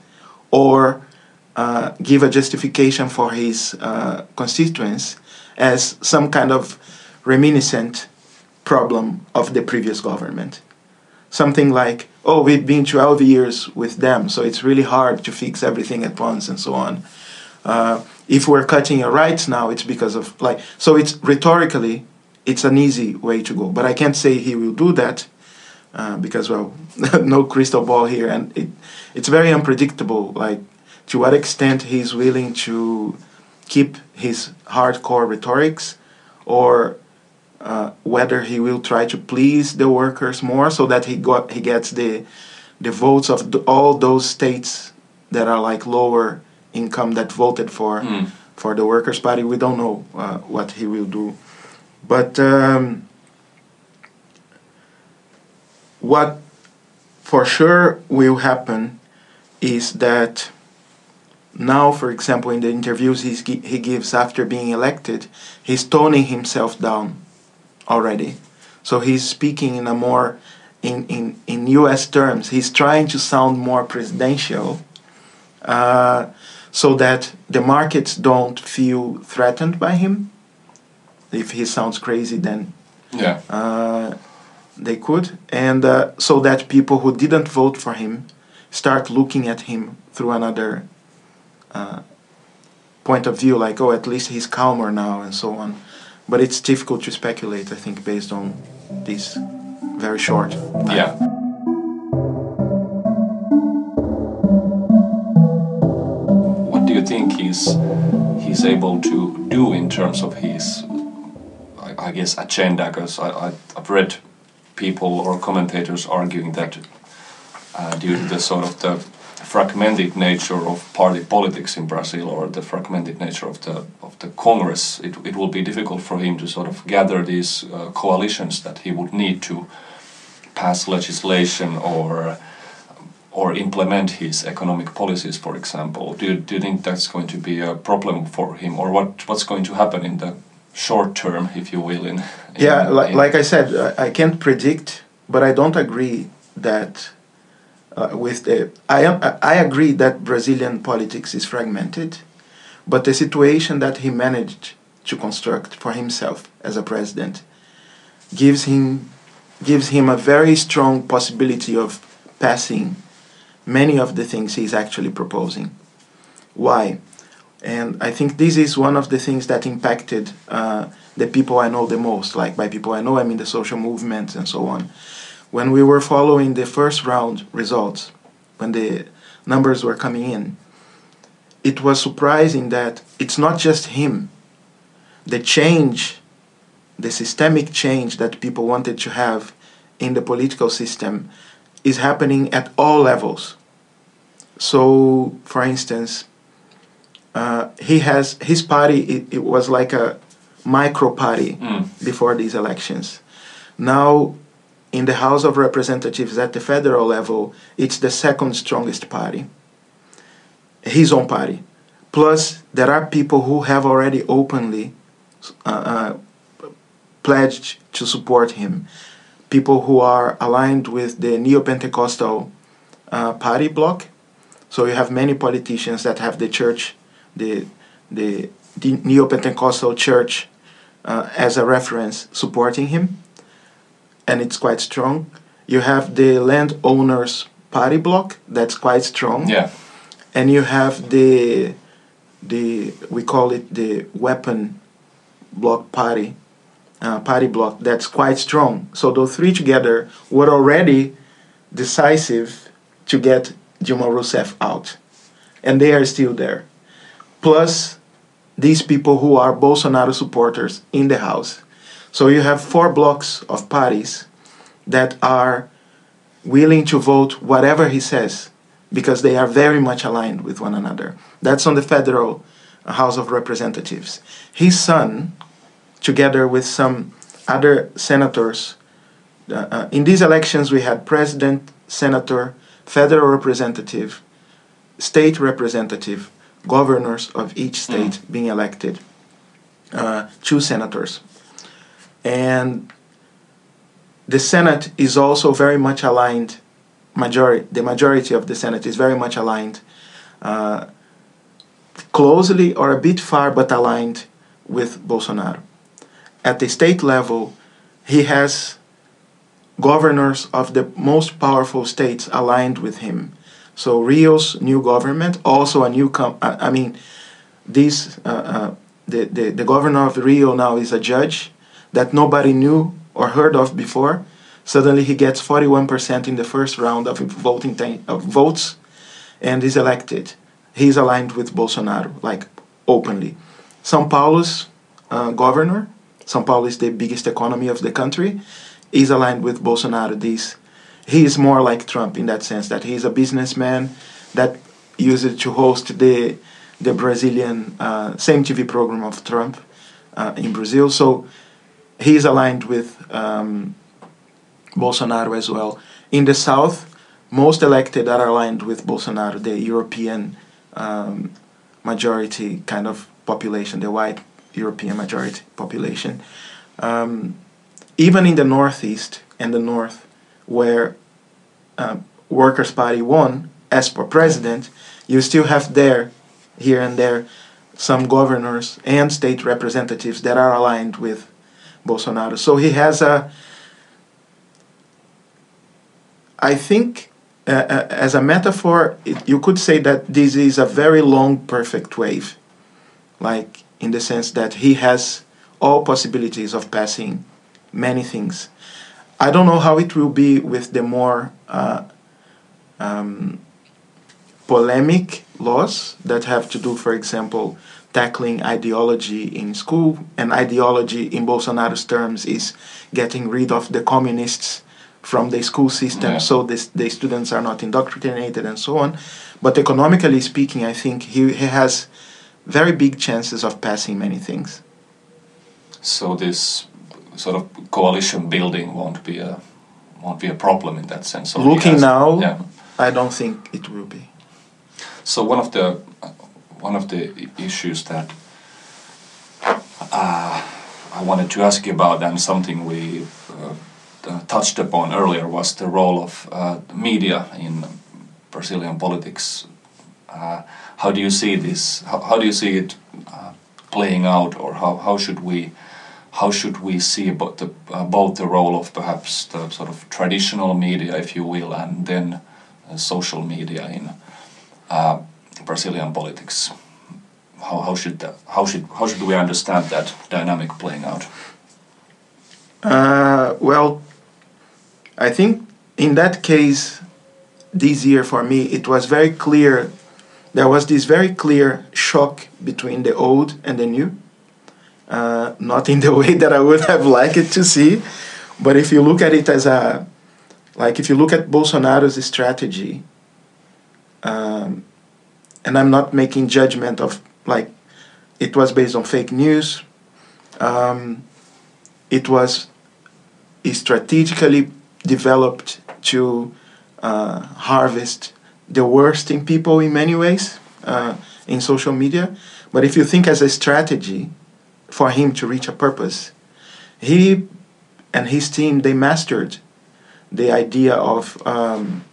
or uh, give a justification for his uh, constituents as some kind of reminiscent problem of the previous government. Something like, oh, we've been twelve years with them, so it's really hard to fix everything at once and so on. Uh, if we're cutting your rights now, it's because of, like, so it's rhetorically, it's an easy way to go. But I can't say he will do that uh, because, well, no crystal ball here. And it, it's very unpredictable, like, to what extent he's willing to keep his hardcore rhetorics, or uh, whether he will try to please the workers more so that he got he gets the the votes of the, all those states that are like lower income that voted for Mm. for the Workers' Party. We don't know uh, what he will do But um, what for sure will happen is that now, for example, in the interviews he's, he gives after being elected, he's toning himself down already. So he's speaking in a more, in, in, in U S terms, he's trying to sound more presidential uh, so that the markets don't feel threatened by him. If he sounds crazy, then Yeah. uh, they could. And uh, so that people who didn't vote for him start looking at him through another uh, point of view, like, oh, at least he's calmer now, and so on. But it's difficult to speculate, I think, based on this very short time. Yeah. What do you think he's he's able to do in terms of his, I, I guess, agenda? Because I, I I've read people or commentators arguing that uh, due to the sort of the fragmented nature of party politics in Brazil, or the fragmented nature of the of the Congress, it it will be difficult for him to sort of gather these uh, coalitions that he would need to pass legislation or or implement his economic policies, for example. Do you, do you think that's going to be a problem for him, or what what's going to happen in the short term, if you will? In, in yeah, like, in like I said, I, I can't predict, but I don't agree that uh, with the. I am I agree that Brazilian politics is fragmented, but the situation that he managed to construct for himself as a president gives him gives him a very strong possibility of passing many of the things he's actually proposing. Why? And I think this is one of the things that impacted uh, the people I know the most. Like, by people I know, I mean the social movement and so on. When we were following the first round results, when the numbers were coming in, it was surprising that it's not just him. The change, the systemic change that people wanted to have in the political system is happening at all levels. So, for instance, uh, he has his party. It, it was like a micro party Mm. before these elections. Now, in the House of Representatives at the federal level, it's the second strongest party. His own party. Plus, there are people who have already openly uh, uh, pledged to support him. People who are aligned with the Neo-Pentecostal uh, party bloc. So you have many politicians that have the church, the the, the Neo-Pentecostal church uh, as a reference supporting him, and it's quite strong. You have the landowners party bloc that's quite strong. Yeah. And you have the the we call it the weapon bloc party. Uh, party bloc that's quite strong. So those three together were already decisive to get Dilma Rousseff out. And they are still there. Plus, these people who are Bolsonaro supporters in the House. So you have four blocks of parties that are willing to vote whatever he says because they are very much aligned with one another. That's on the federal House of Representatives. His son, together with some other senators. Uh, uh, in these elections, we had president, senator, federal representative, state representative, governors of each state mm. being elected, uh, two senators. And the Senate is also very much aligned, majority, the majority of the Senate is very much aligned, uh, closely or a bit far, but aligned with Bolsonaro. At the state level, he has governors of the most powerful states aligned with him. So Rio's new government, also a new, com- I mean, this, uh, uh, the, the, the governor of Rio now is a judge that nobody knew or heard of before. Suddenly he gets forty-one percent in the first round of voting t- of votes and is elected. He's aligned with Bolsonaro, like openly. São Paulo's uh, governor, São Paulo is the biggest economy of the country, is aligned with Bolsonaro. This, he is more like Trump in that sense, that he is a businessman that used to host the the Brazilian uh, same T V program of Trump uh, in Brazil. So he's aligned with um, Bolsonaro as well. In the south, most elected are aligned with Bolsonaro, the European um, majority kind of population, the white European majority population. Um, even in the northeast and the north, where uh, Workers' Party won as for president, you still have there, here and there, some governors and state representatives that are aligned with Bolsonaro. So he has a, I think, uh, uh, as a metaphor, it, you could say that this is a very long, perfect wave. Like, in the sense that he has all possibilities of passing many things. I don't know how it will be with the more uh, um, polemic laws that have to do, for example, tackling ideology in school. And ideology, in Bolsonaro's terms, is getting rid of the communists from the school system, yeah. so this, the students are not indoctrinated and so on. But economically speaking, I think he, he has very big chances of passing many things. So this sort of coalition building won't be a won't be a problem in that sense. So Looking has, now, yeah. I don't think it will be. So one of the one of the issues that uh, I wanted to ask you about, and something we uh, touched upon earlier, was the role of uh, media in Brazilian politics. Uh, how do you see this? How, how do you see it uh, playing out, or how, how should we how should we see about the uh, both the role of perhaps the sort of traditional media, if you will, and then uh, social media in uh, Brazilian politics? How how should that how should how should we understand that dynamic playing out? Uh, well, I think in that case, this year for me, it was very clear. There was this very clear shock between the old and the new. Uh, not in the way that I would have liked it to see, but if you look at it as a, like if you look at Bolsonaro's strategy, um, and I'm not making judgment of, like, it was based on fake news, um, it was strategically developed to uh, harvest the worst in people in many ways uh, in social media. But if you think as a strategy for him to reach a purpose, he and his team, they mastered the idea of um,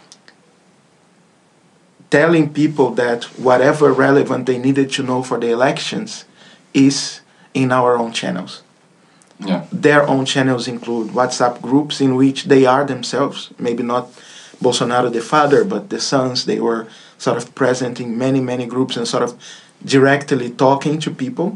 telling people that whatever relevant they needed to know for the elections is in our own channels. Yeah. Their own channels include WhatsApp groups in which they are themselves, maybe not Bolsonaro the father, but the sons. They were sort of present in many, many groups and sort of directly talking to people.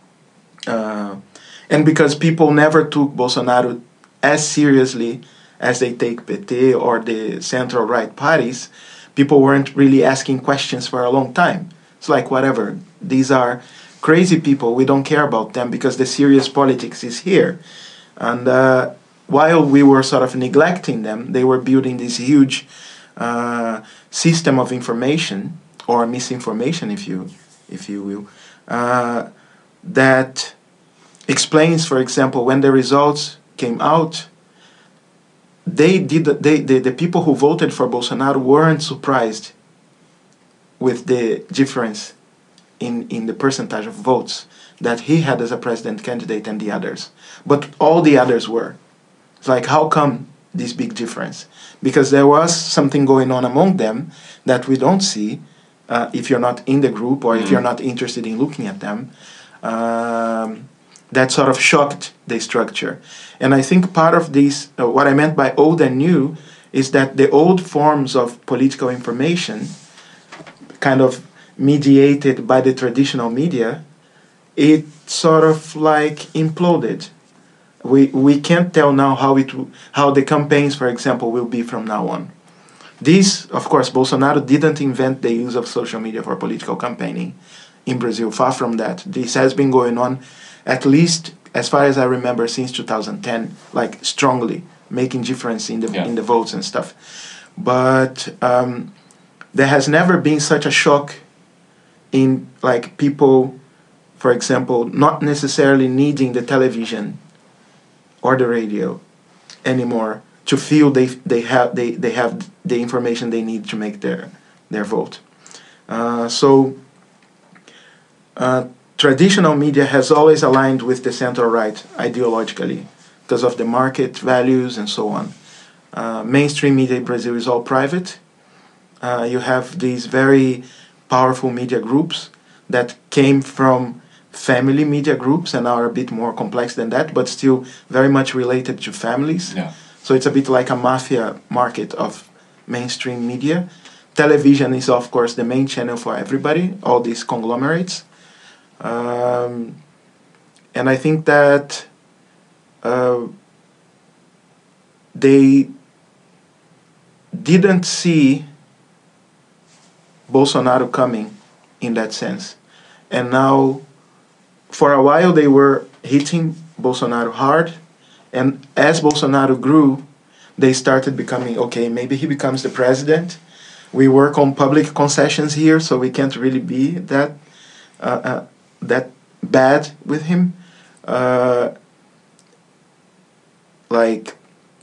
Uh, and because people never took Bolsonaro as seriously as they take P T or the central right parties, people weren't really asking questions for a long time. It's like, whatever, these are crazy people, we don't care about them because the serious politics is here. And uh, while we were sort of neglecting them, they were building this huge uh, system of information, or misinformation, if you if you will, uh, that explains, for example, when the results came out, they did they, they the people who voted for Bolsonaro weren't surprised with the difference in, in the percentage of votes that he had as a president candidate and the others. But all the others were. It's like, how come this big difference? Because there was something going on among them that we don't see uh, if you're not in the group or mm-hmm. if you're not interested in looking at them. Um, that sort of shocked the structure. And I think part of this, uh, what I meant by old and new, is that the old forms of political information, kind of mediated by the traditional media, it sort of like imploded. We we can't tell now how it how the campaigns, for example, will be from now on. This, of course, Bolsonaro didn't invent the use of social media for political campaigning in Brazil. Far from that. This has been going on, at least as far as I remember, since two thousand ten, like strongly making difference in the yeah. in the votes and stuff. But um, there has never been such a shock in like people, for example, not necessarily needing the television or the radio anymore to feel they they have they, they have the information they need to make their their vote. Uh, so uh, traditional media has always aligned with the center right ideologically because of the market values and so on. Uh, mainstream media in Brazil is all private. Uh, you have these very powerful media groups that came from family media groups and are a bit more complex than that, but still very much related to families. Yeah. So it's a bit like a mafia market of mainstream media. Television is, of course, the main channel for everybody, all these conglomerates. Um, and I think that uh, they didn't see Bolsonaro coming in that sense. And now, for a while, they were hitting Bolsonaro hard. And as Bolsonaro grew, they started becoming, okay, maybe he becomes the president. We work on public concessions here, so we can't really be that uh, uh, that bad with him. Uh, like,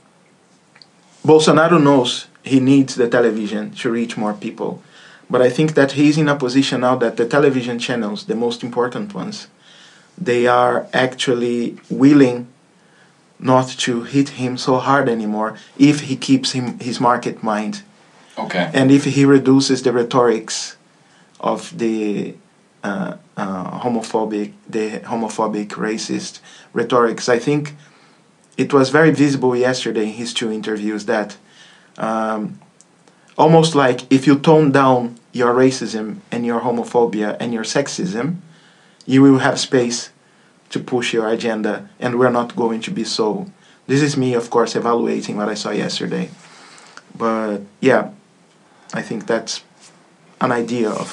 Bolsonaro knows he needs the television to reach more people. But I think that he's in a position now that the television channels, the most important ones, they are actually willing not to hit him so hard anymore if he keeps him his market mind. Okay. And if he reduces the rhetorics of the uh, uh, homophobic, the homophobic, racist rhetorics. I think it was very visible yesterday in his two interviews that um, almost like if you tone down your racism and your homophobia and your sexism, you will have space to push your agenda, and we're not going to be so. This is me, of course, evaluating what I saw yesterday. But yeah, I think that's an idea of.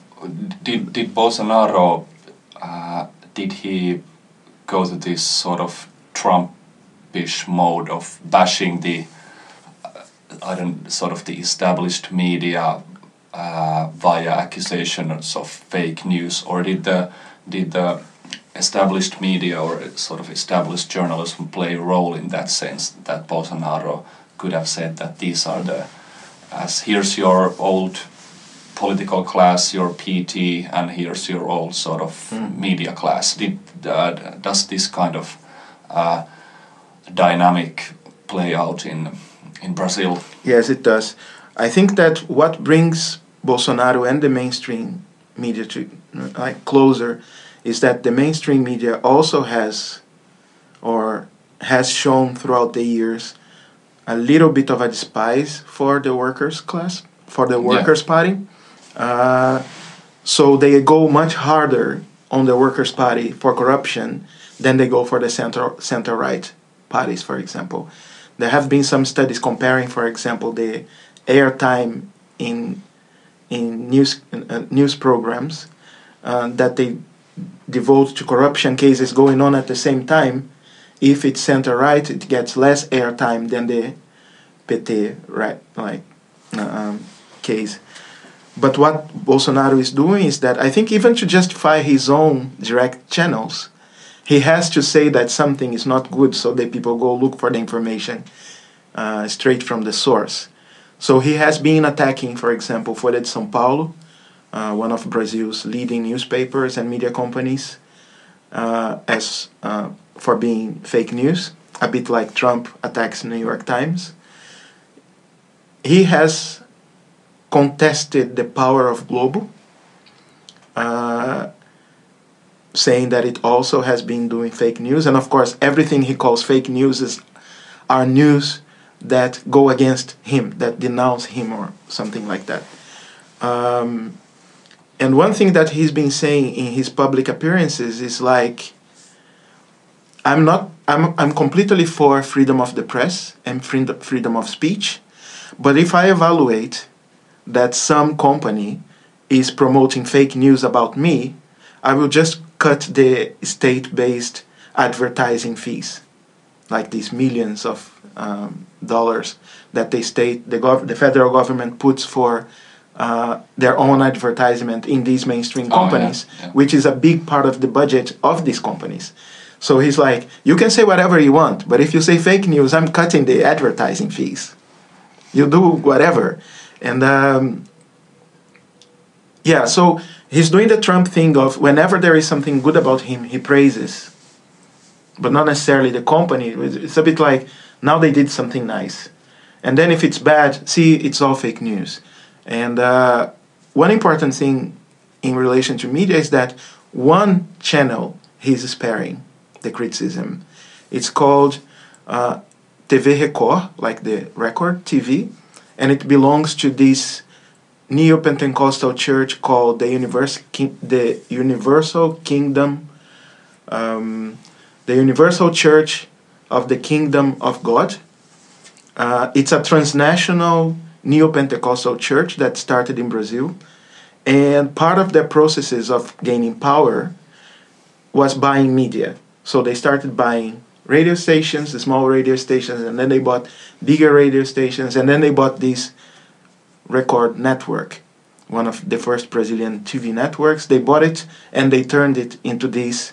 Did did Bolsonaro uh, did he go to this sort of Trumpish mode of bashing the uh, I don't sort of the established media uh, via accusations of fake news, or did the did the established media or sort of established journalism play a role in that sense that Bolsonaro could have said that these are the as here's your old political class, your P T, and here's your old sort of mm. media class. Did uh, does this kind of uh, dynamic play out in in Brazil? Yes, it does. I think that what brings Bolsonaro and the mainstream media to uh, like closer is that the mainstream media also has or has shown throughout the years a little bit of a despise for the workers' class, for the workers' yeah. party. Uh, so they go much harder on the Workers' Party for corruption than they go for the center center right parties, for example. There have been some studies comparing, for example, the airtime in in news uh, news programs uh, that they devote to corruption cases going on at the same time. If it's center right, it gets less airtime than the P T right like um, case. But what Bolsonaro is doing is that I think even to justify his own direct channels, he has to say that something is not good so that people go look for the information uh, straight from the source. So he has been attacking, for example, Folha de São Paulo, uh, one of Brazil's leading newspapers and media companies, uh, as uh, for being fake news, a bit like Trump attacks New York Times. He has contested the power of Globo, uh, saying that it also has been doing fake news. And of course, everything he calls fake news is are news that go against him, that denounce him or something like that. Um, and one thing that he's been saying in his public appearances is like, I'm not, I'm, I'm completely for freedom of the press and freedom of speech, but if I evaluate that some company is promoting fake news about me, I will just cut the state-based advertising fees, like these millions of um, dollars that the state, the, gov- the federal government puts for uh, their own advertisement in these mainstream companies, oh, yeah, yeah. which is a big part of the budget of these companies. So he's like, you can say whatever you want, but if you say fake news, I'm cutting the advertising fees. You do whatever. And um, yeah, so he's doing the Trump thing of whenever there is something good about him, he praises. But not necessarily the company. It's a bit like, now they did something nice. And then if it's bad, see, it's all fake news. And uh, one important thing in relation to media is that one channel he's sparing the criticism. It's called uh, T V Record, like the record T V, and it belongs to this neo-Pentecostal church called the, Univers- King- the Universal Kingdom, um, the Universal Church of the Kingdom of God. Uh, it's a transnational neo-Pentecostal church that started in Brazil, and part of their processes of gaining power was buying media. So they started buying radio stations, the small radio stations, and then they bought bigger radio stations, and then they bought this record network, one of the first Brazilian T V networks. They bought it and they turned it into this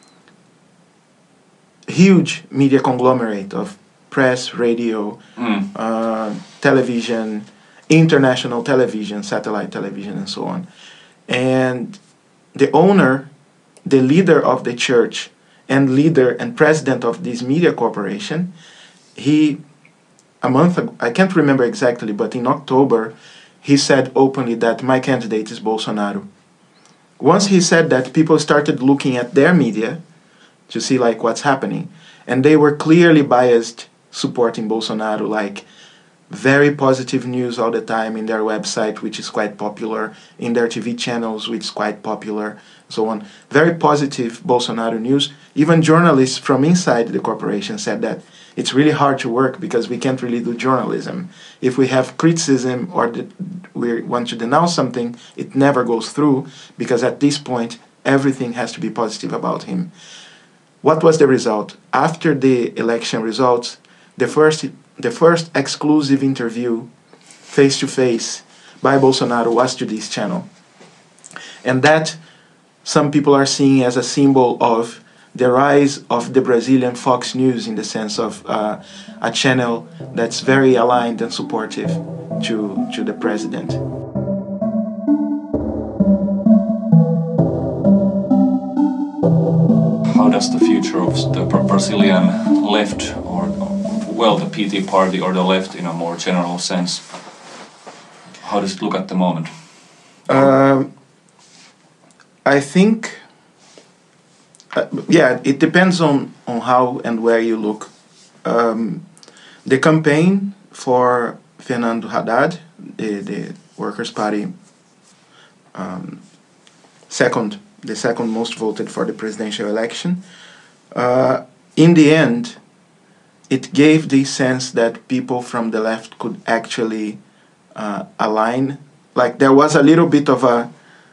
huge media conglomerate of press, radio, Mm. uh, television, international television, satellite television, and so on. And the owner, the leader of the church, and leader and president of this media corporation, he, a month ago, I can't remember exactly, but in October, he said openly that my candidate is Bolsonaro. Once he said that, people started looking at their media to see like what's happening. And they were clearly biased supporting Bolsonaro, like very positive news all the time in their website, which is quite popular, in their T V channels, which is quite popular, so on. Very positive Bolsonaro news. Even journalists from inside the corporation said that it's really hard to work because we can't really do journalism. If we have criticism or the, we want to denounce something, it never goes through because at this point, everything has to be positive about him. What was the result? After the election results, the first the first exclusive interview face-to-face by Bolsonaro was to this channel. And that some people are seeing as a symbol of the rise of the Brazilian Fox News in the sense of uh, a channel that's very aligned and supportive to, to the president. How does the future of the Brazilian left, or well, the P T party or the left in a more general sense, how does it look at the moment? Um, I think, uh, yeah, it depends on, on how and where you look. Um, the campaign for Fernando Haddad, the, the Workers' Party, um, second, the second most voted for the presidential election, uh, in the end, it gave the sense that people from the left could actually uh, align. Like there was a little bit of a,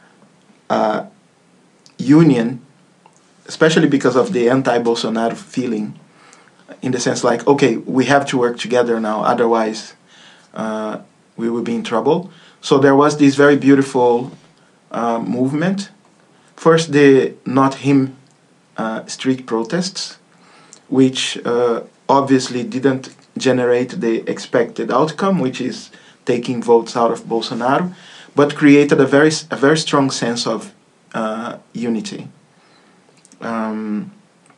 a union, especially because of the anti-Bolsonaro feeling, in the sense like, okay, we have to work together now, otherwise uh, we will be in trouble. So there was this very beautiful uh, movement. First, the Not Him uh, street protests, which uh, obviously didn't generate the expected outcome, which is taking votes out of Bolsonaro, but created a very a very strong sense of uh, unity um,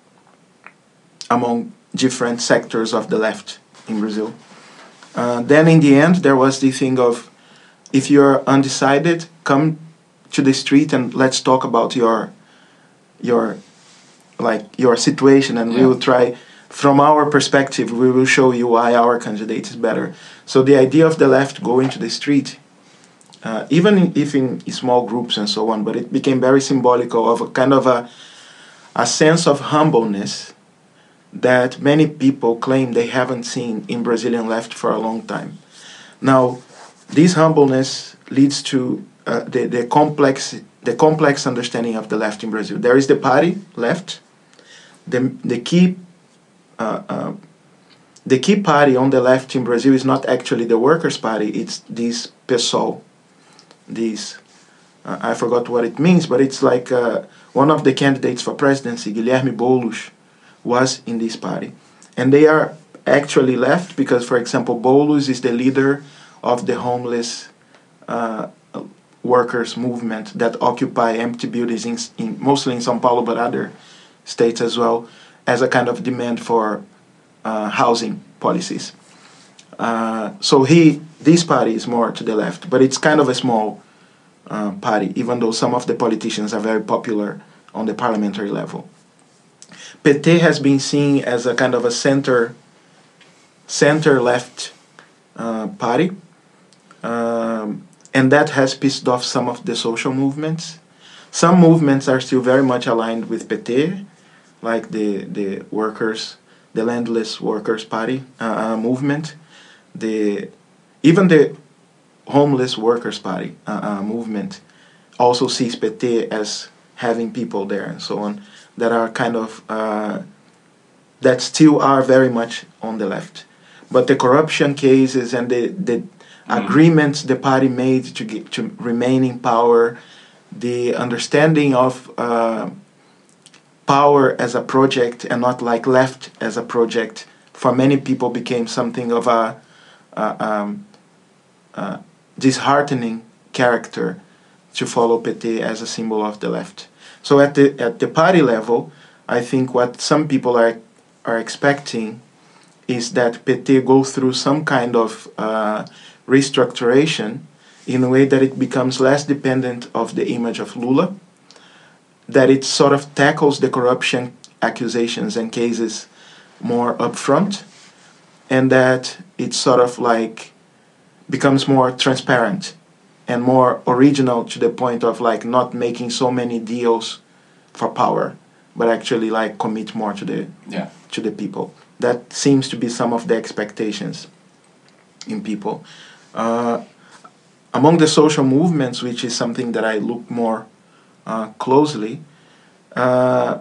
among different sectors of the left in Brazil. Uh, then in the end, there was the thing of, if you're undecided, come to the street and let's talk about your your like your situation, and yeah. we will try. From our perspective, we will show you why our candidate is better. So the idea of the left going to the street, uh, even if in small groups and so on, but it became very symbolical of a kind of a, a sense of humbleness that many people claim they haven't seen in Brazilian left for a long time. Now, this humbleness leads to uh, the, the complex the complex understanding of the left in Brazil. There is the party left, the the key Uh, uh, the key party on the left in Brazil is not actually the Workers' Party, it's this PSOL. This, uh, I forgot what it means, but it's like uh, one of the candidates for presidency, Guilherme Boulos, was in this party. And they are actually left because, for example, Boulos is the leader of the homeless uh, workers movement that occupy empty buildings, in, in, mostly in São Paulo, but other states as well, as a kind of demand for uh, housing policies. Uh, so he, this party is more to the left, but it's kind of a small uh, party, even though some of the politicians are very popular on the parliamentary level. P T has been seen as a kind of a center, center-left uh, party, um, and that has pissed off some of the social movements. Some movements are still very much aligned with P T, like the the workers, the landless workers party uh, movement, the even the homeless workers party uh, uh, movement also sees P T as having people there and so on that are kind of uh, that still are very much on the left. But the corruption cases and the the mm. agreements the party made to get, to remain in power, the understanding of uh, power as a project and not like left as a project, for many people became something of a, a um, uh, disheartening character to follow P T as a symbol of the left. So at the at the party level, I think what some people are are expecting is that P T go through some kind of uh, restructuration in a way that it becomes less dependent of the image of Lula, that it sort of tackles the corruption accusations and cases more upfront, and that it sort of like becomes more transparent and more original to the point of like not making so many deals for power, but actually like commit more to the yeah. to the people. That seems to be some of the expectations in people. Uh, among the social movements, which is something that I look more uh, closely, uh,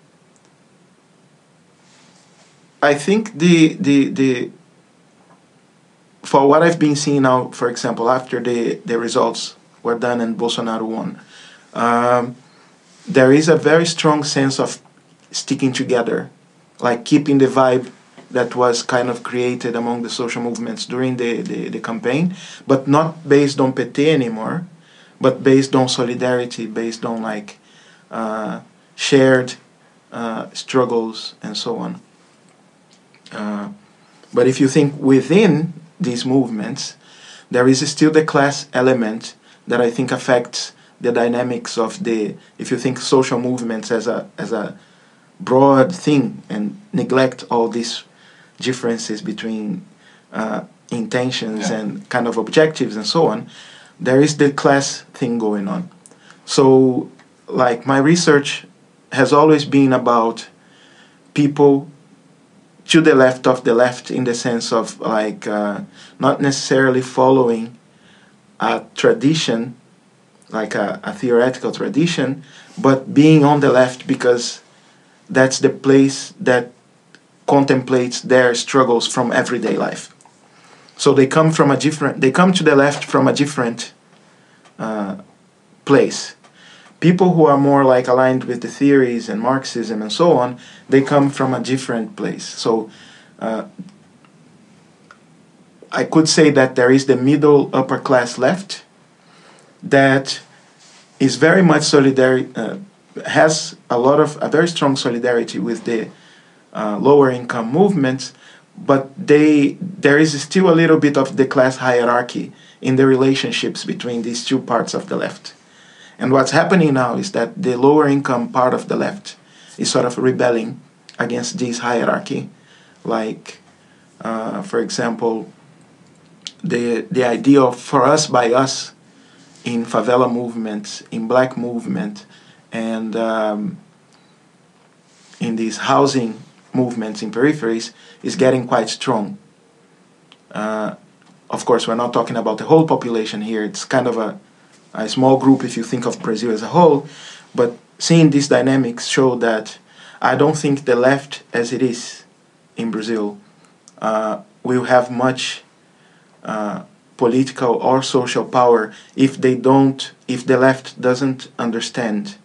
I think the the the for what I've been seeing now, for example, after the, the results were done and Bolsonaro won, um, there is a very strong sense of sticking together, like keeping the vibe that was kind of created among the social movements during the, the, the campaign, but not based on P T anymore, but based on solidarity, based on like uh, shared uh, struggles and so on. Uh, but if you think within these movements, there is still the class element that I think affects the dynamics of the, if you think social movements as a as a broad thing and neglect all these differences between uh, intentions yeah. and kind of objectives and so on, there is the class thing going on. So like my research has always been about people to the left of the left, in the sense of like uh, not necessarily following a tradition, like a, a theoretical tradition, but being on the left because that's the place that contemplates their struggles from everyday life. So they come from a different, they come to the left from a different uh, place. People who are more like aligned with the theories and Marxism and so on, they come from a different place. So uh, I could say that there is the middle upper class left that is very much solidary, uh, has a lot of, a very strong solidarity with the uh, lower income movements, but they there is still a little bit of the class hierarchy in the relationships between these two parts of the left. And what's happening now is that the lower income part of the left is sort of rebelling against this hierarchy. Like, uh, for example, the the idea of for us by us in favela movements, in black movement, and um, in these housing movements in peripheries is getting quite strong. Uh, of course, we're not talking about the whole population here. It's kind of a a small group if you think of Brazil as a whole, but seeing these dynamics show that I don't think the left as it is in Brazil uh, will have much uh, political or social power if they don't, if the left doesn't understand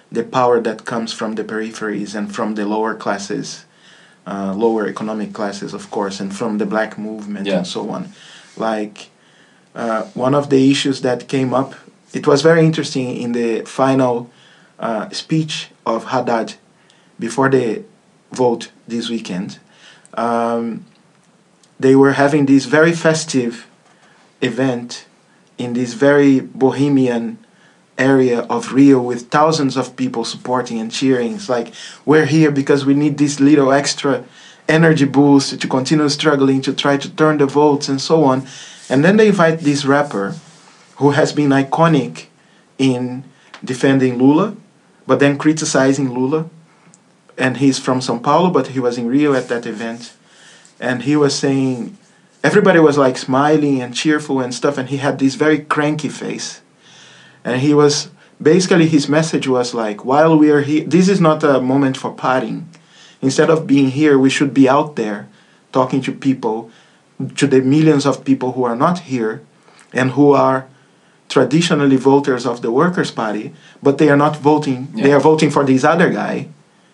the power that comes from the peripheries and from the lower classes, uh, lower economic classes, of course, and from the black movement Yeah. and so on. Like, uh, one of the issues that came up, it was very interesting in the final uh, speech of Haddad before the vote this weekend. Um, they were having this very festive event in this very bohemian area of Rio with thousands of people supporting and cheering. It's like, we're here because we need this little extra energy boost to continue struggling to try to turn the votes and so on. And then they invite this rapper who has been iconic in defending Lula, but then criticizing Lula. And he's from São Paulo, but he was in Rio at that event. And he was saying, everybody was like smiling and cheerful and stuff, and he had this very cranky face. And he was, basically his message was like, while we are here, this is not a moment for partying. Instead of being here, we should be out there talking to people, to the millions of people who are not here and who are traditionally voters of the Workers' Party, but they are not voting, yeah. They are voting for this other guy.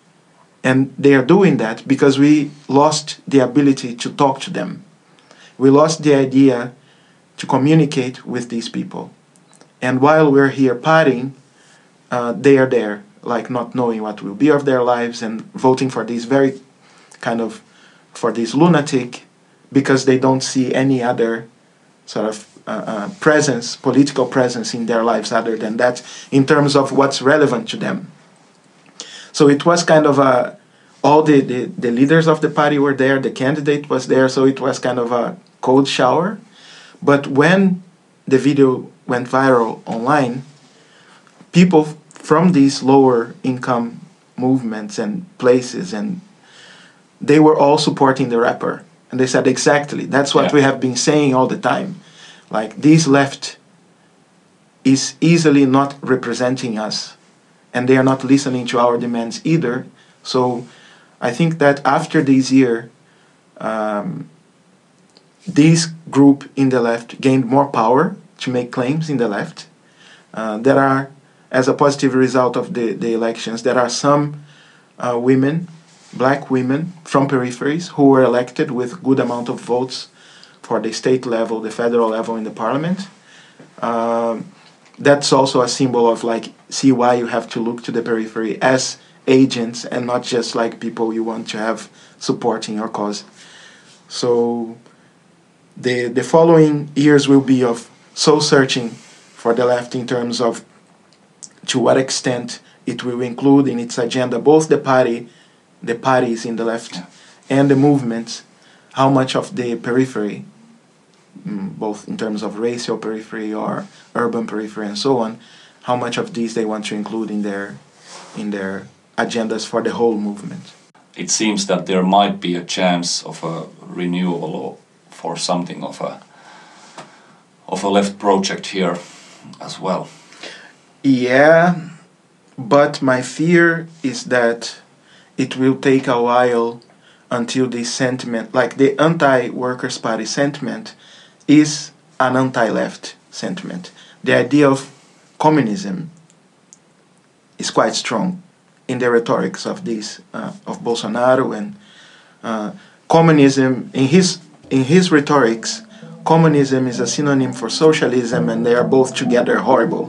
And they are doing that because we lost the ability to talk to them. We lost the idea to communicate with these people. And while we're here partying, uh, they are there, like not knowing what will be of their lives and voting for this very kind of, for this lunatic, because they don't see any other sort of uh, uh, presence, political presence in their lives other than that, in terms of what's relevant to them. So it was kind of a, all the, the, the leaders of the party were there, the candidate was there, so it was kind of a cold shower. But when the video went viral online, people from these lower income movements and places, and they were all supporting the rapper. And they said, exactly, that's what yeah. we have been saying all the time. Like, this left is easily not representing us, and they are not listening to our demands either. So I think that after this year, um, this group in the left gained more power to make claims in the left. Uh, there are, as a positive result of the, the elections, there are some uh, women, black women from peripheries who were elected with good amount of votes for the state level, the federal level in the parliament. Um, that's also a symbol of like, see why you have to look to the periphery as agents and not just like people you want to have supporting your cause. So the the following years will be of soul searching for the left in terms of to what extent it will include in its agenda both the party, the parties in the left, yeah. and the movements, how much of the periphery, both in terms of racial periphery or urban periphery and so on, how much of these they want to include in their in their agendas for the whole movement. It seems that there might be a chance of a renewal for something of a of a left project here as well. Yeah, but my fear is that it will take a while until this sentiment, like the anti-Workers' Party sentiment, is an anti-left sentiment. The idea of communism is quite strong in the rhetorics of these uh, of Bolsonaro, and uh, communism in his in his rhetorics, communism is a synonym for socialism, and they are both together horrible.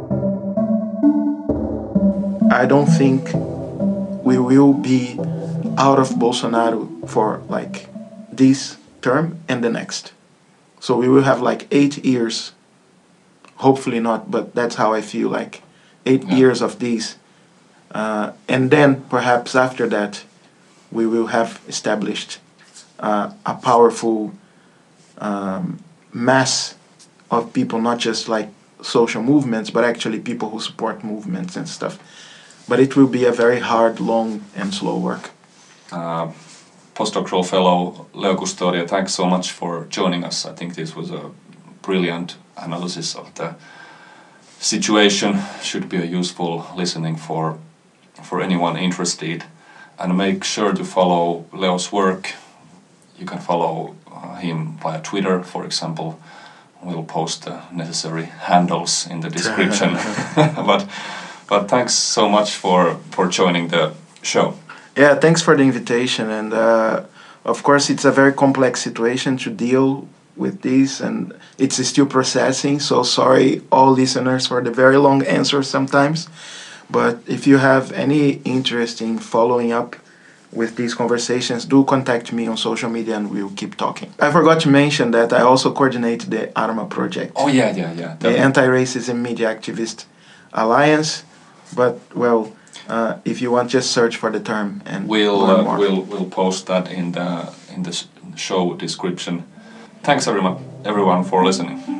I don't think we will be out of Bolsonaro for like this term and the next. So we will have like eight years, hopefully not, but that's how I feel, like eight yeah. years of these. Uh, and then perhaps after that, we will have established uh, a powerful um, mass of people, not just like social movements, but actually people who support movements and stuff. But it will be a very hard, long, and slow work. Uh, postdoctoral fellow Leo Custodia, thanks so much for joining us. I think this was a brilliant analysis of the situation. Should be a useful listening for for anyone interested. And make sure to follow Leo's work. You can follow uh, him via Twitter, for example. We'll post the necessary handles in the description. But But thanks so much for for joining the show. Yeah, thanks for the invitation. And uh, of course, it's a very complex situation to deal with this, and it's still processing. So sorry, all listeners, for the very long answer sometimes. But if you have any interest in following up with these conversations, do contact me on social media and we'll keep talking. I forgot to mention that I also coordinate the ARMA project. Oh yeah, yeah, yeah. The Anti-Racism Media Activist Alliance. But, well, uh, if you want, just search for the term and we'll learn uh, more. we'll we'll post that in the in the show description. Thanks everyone everyone for listening.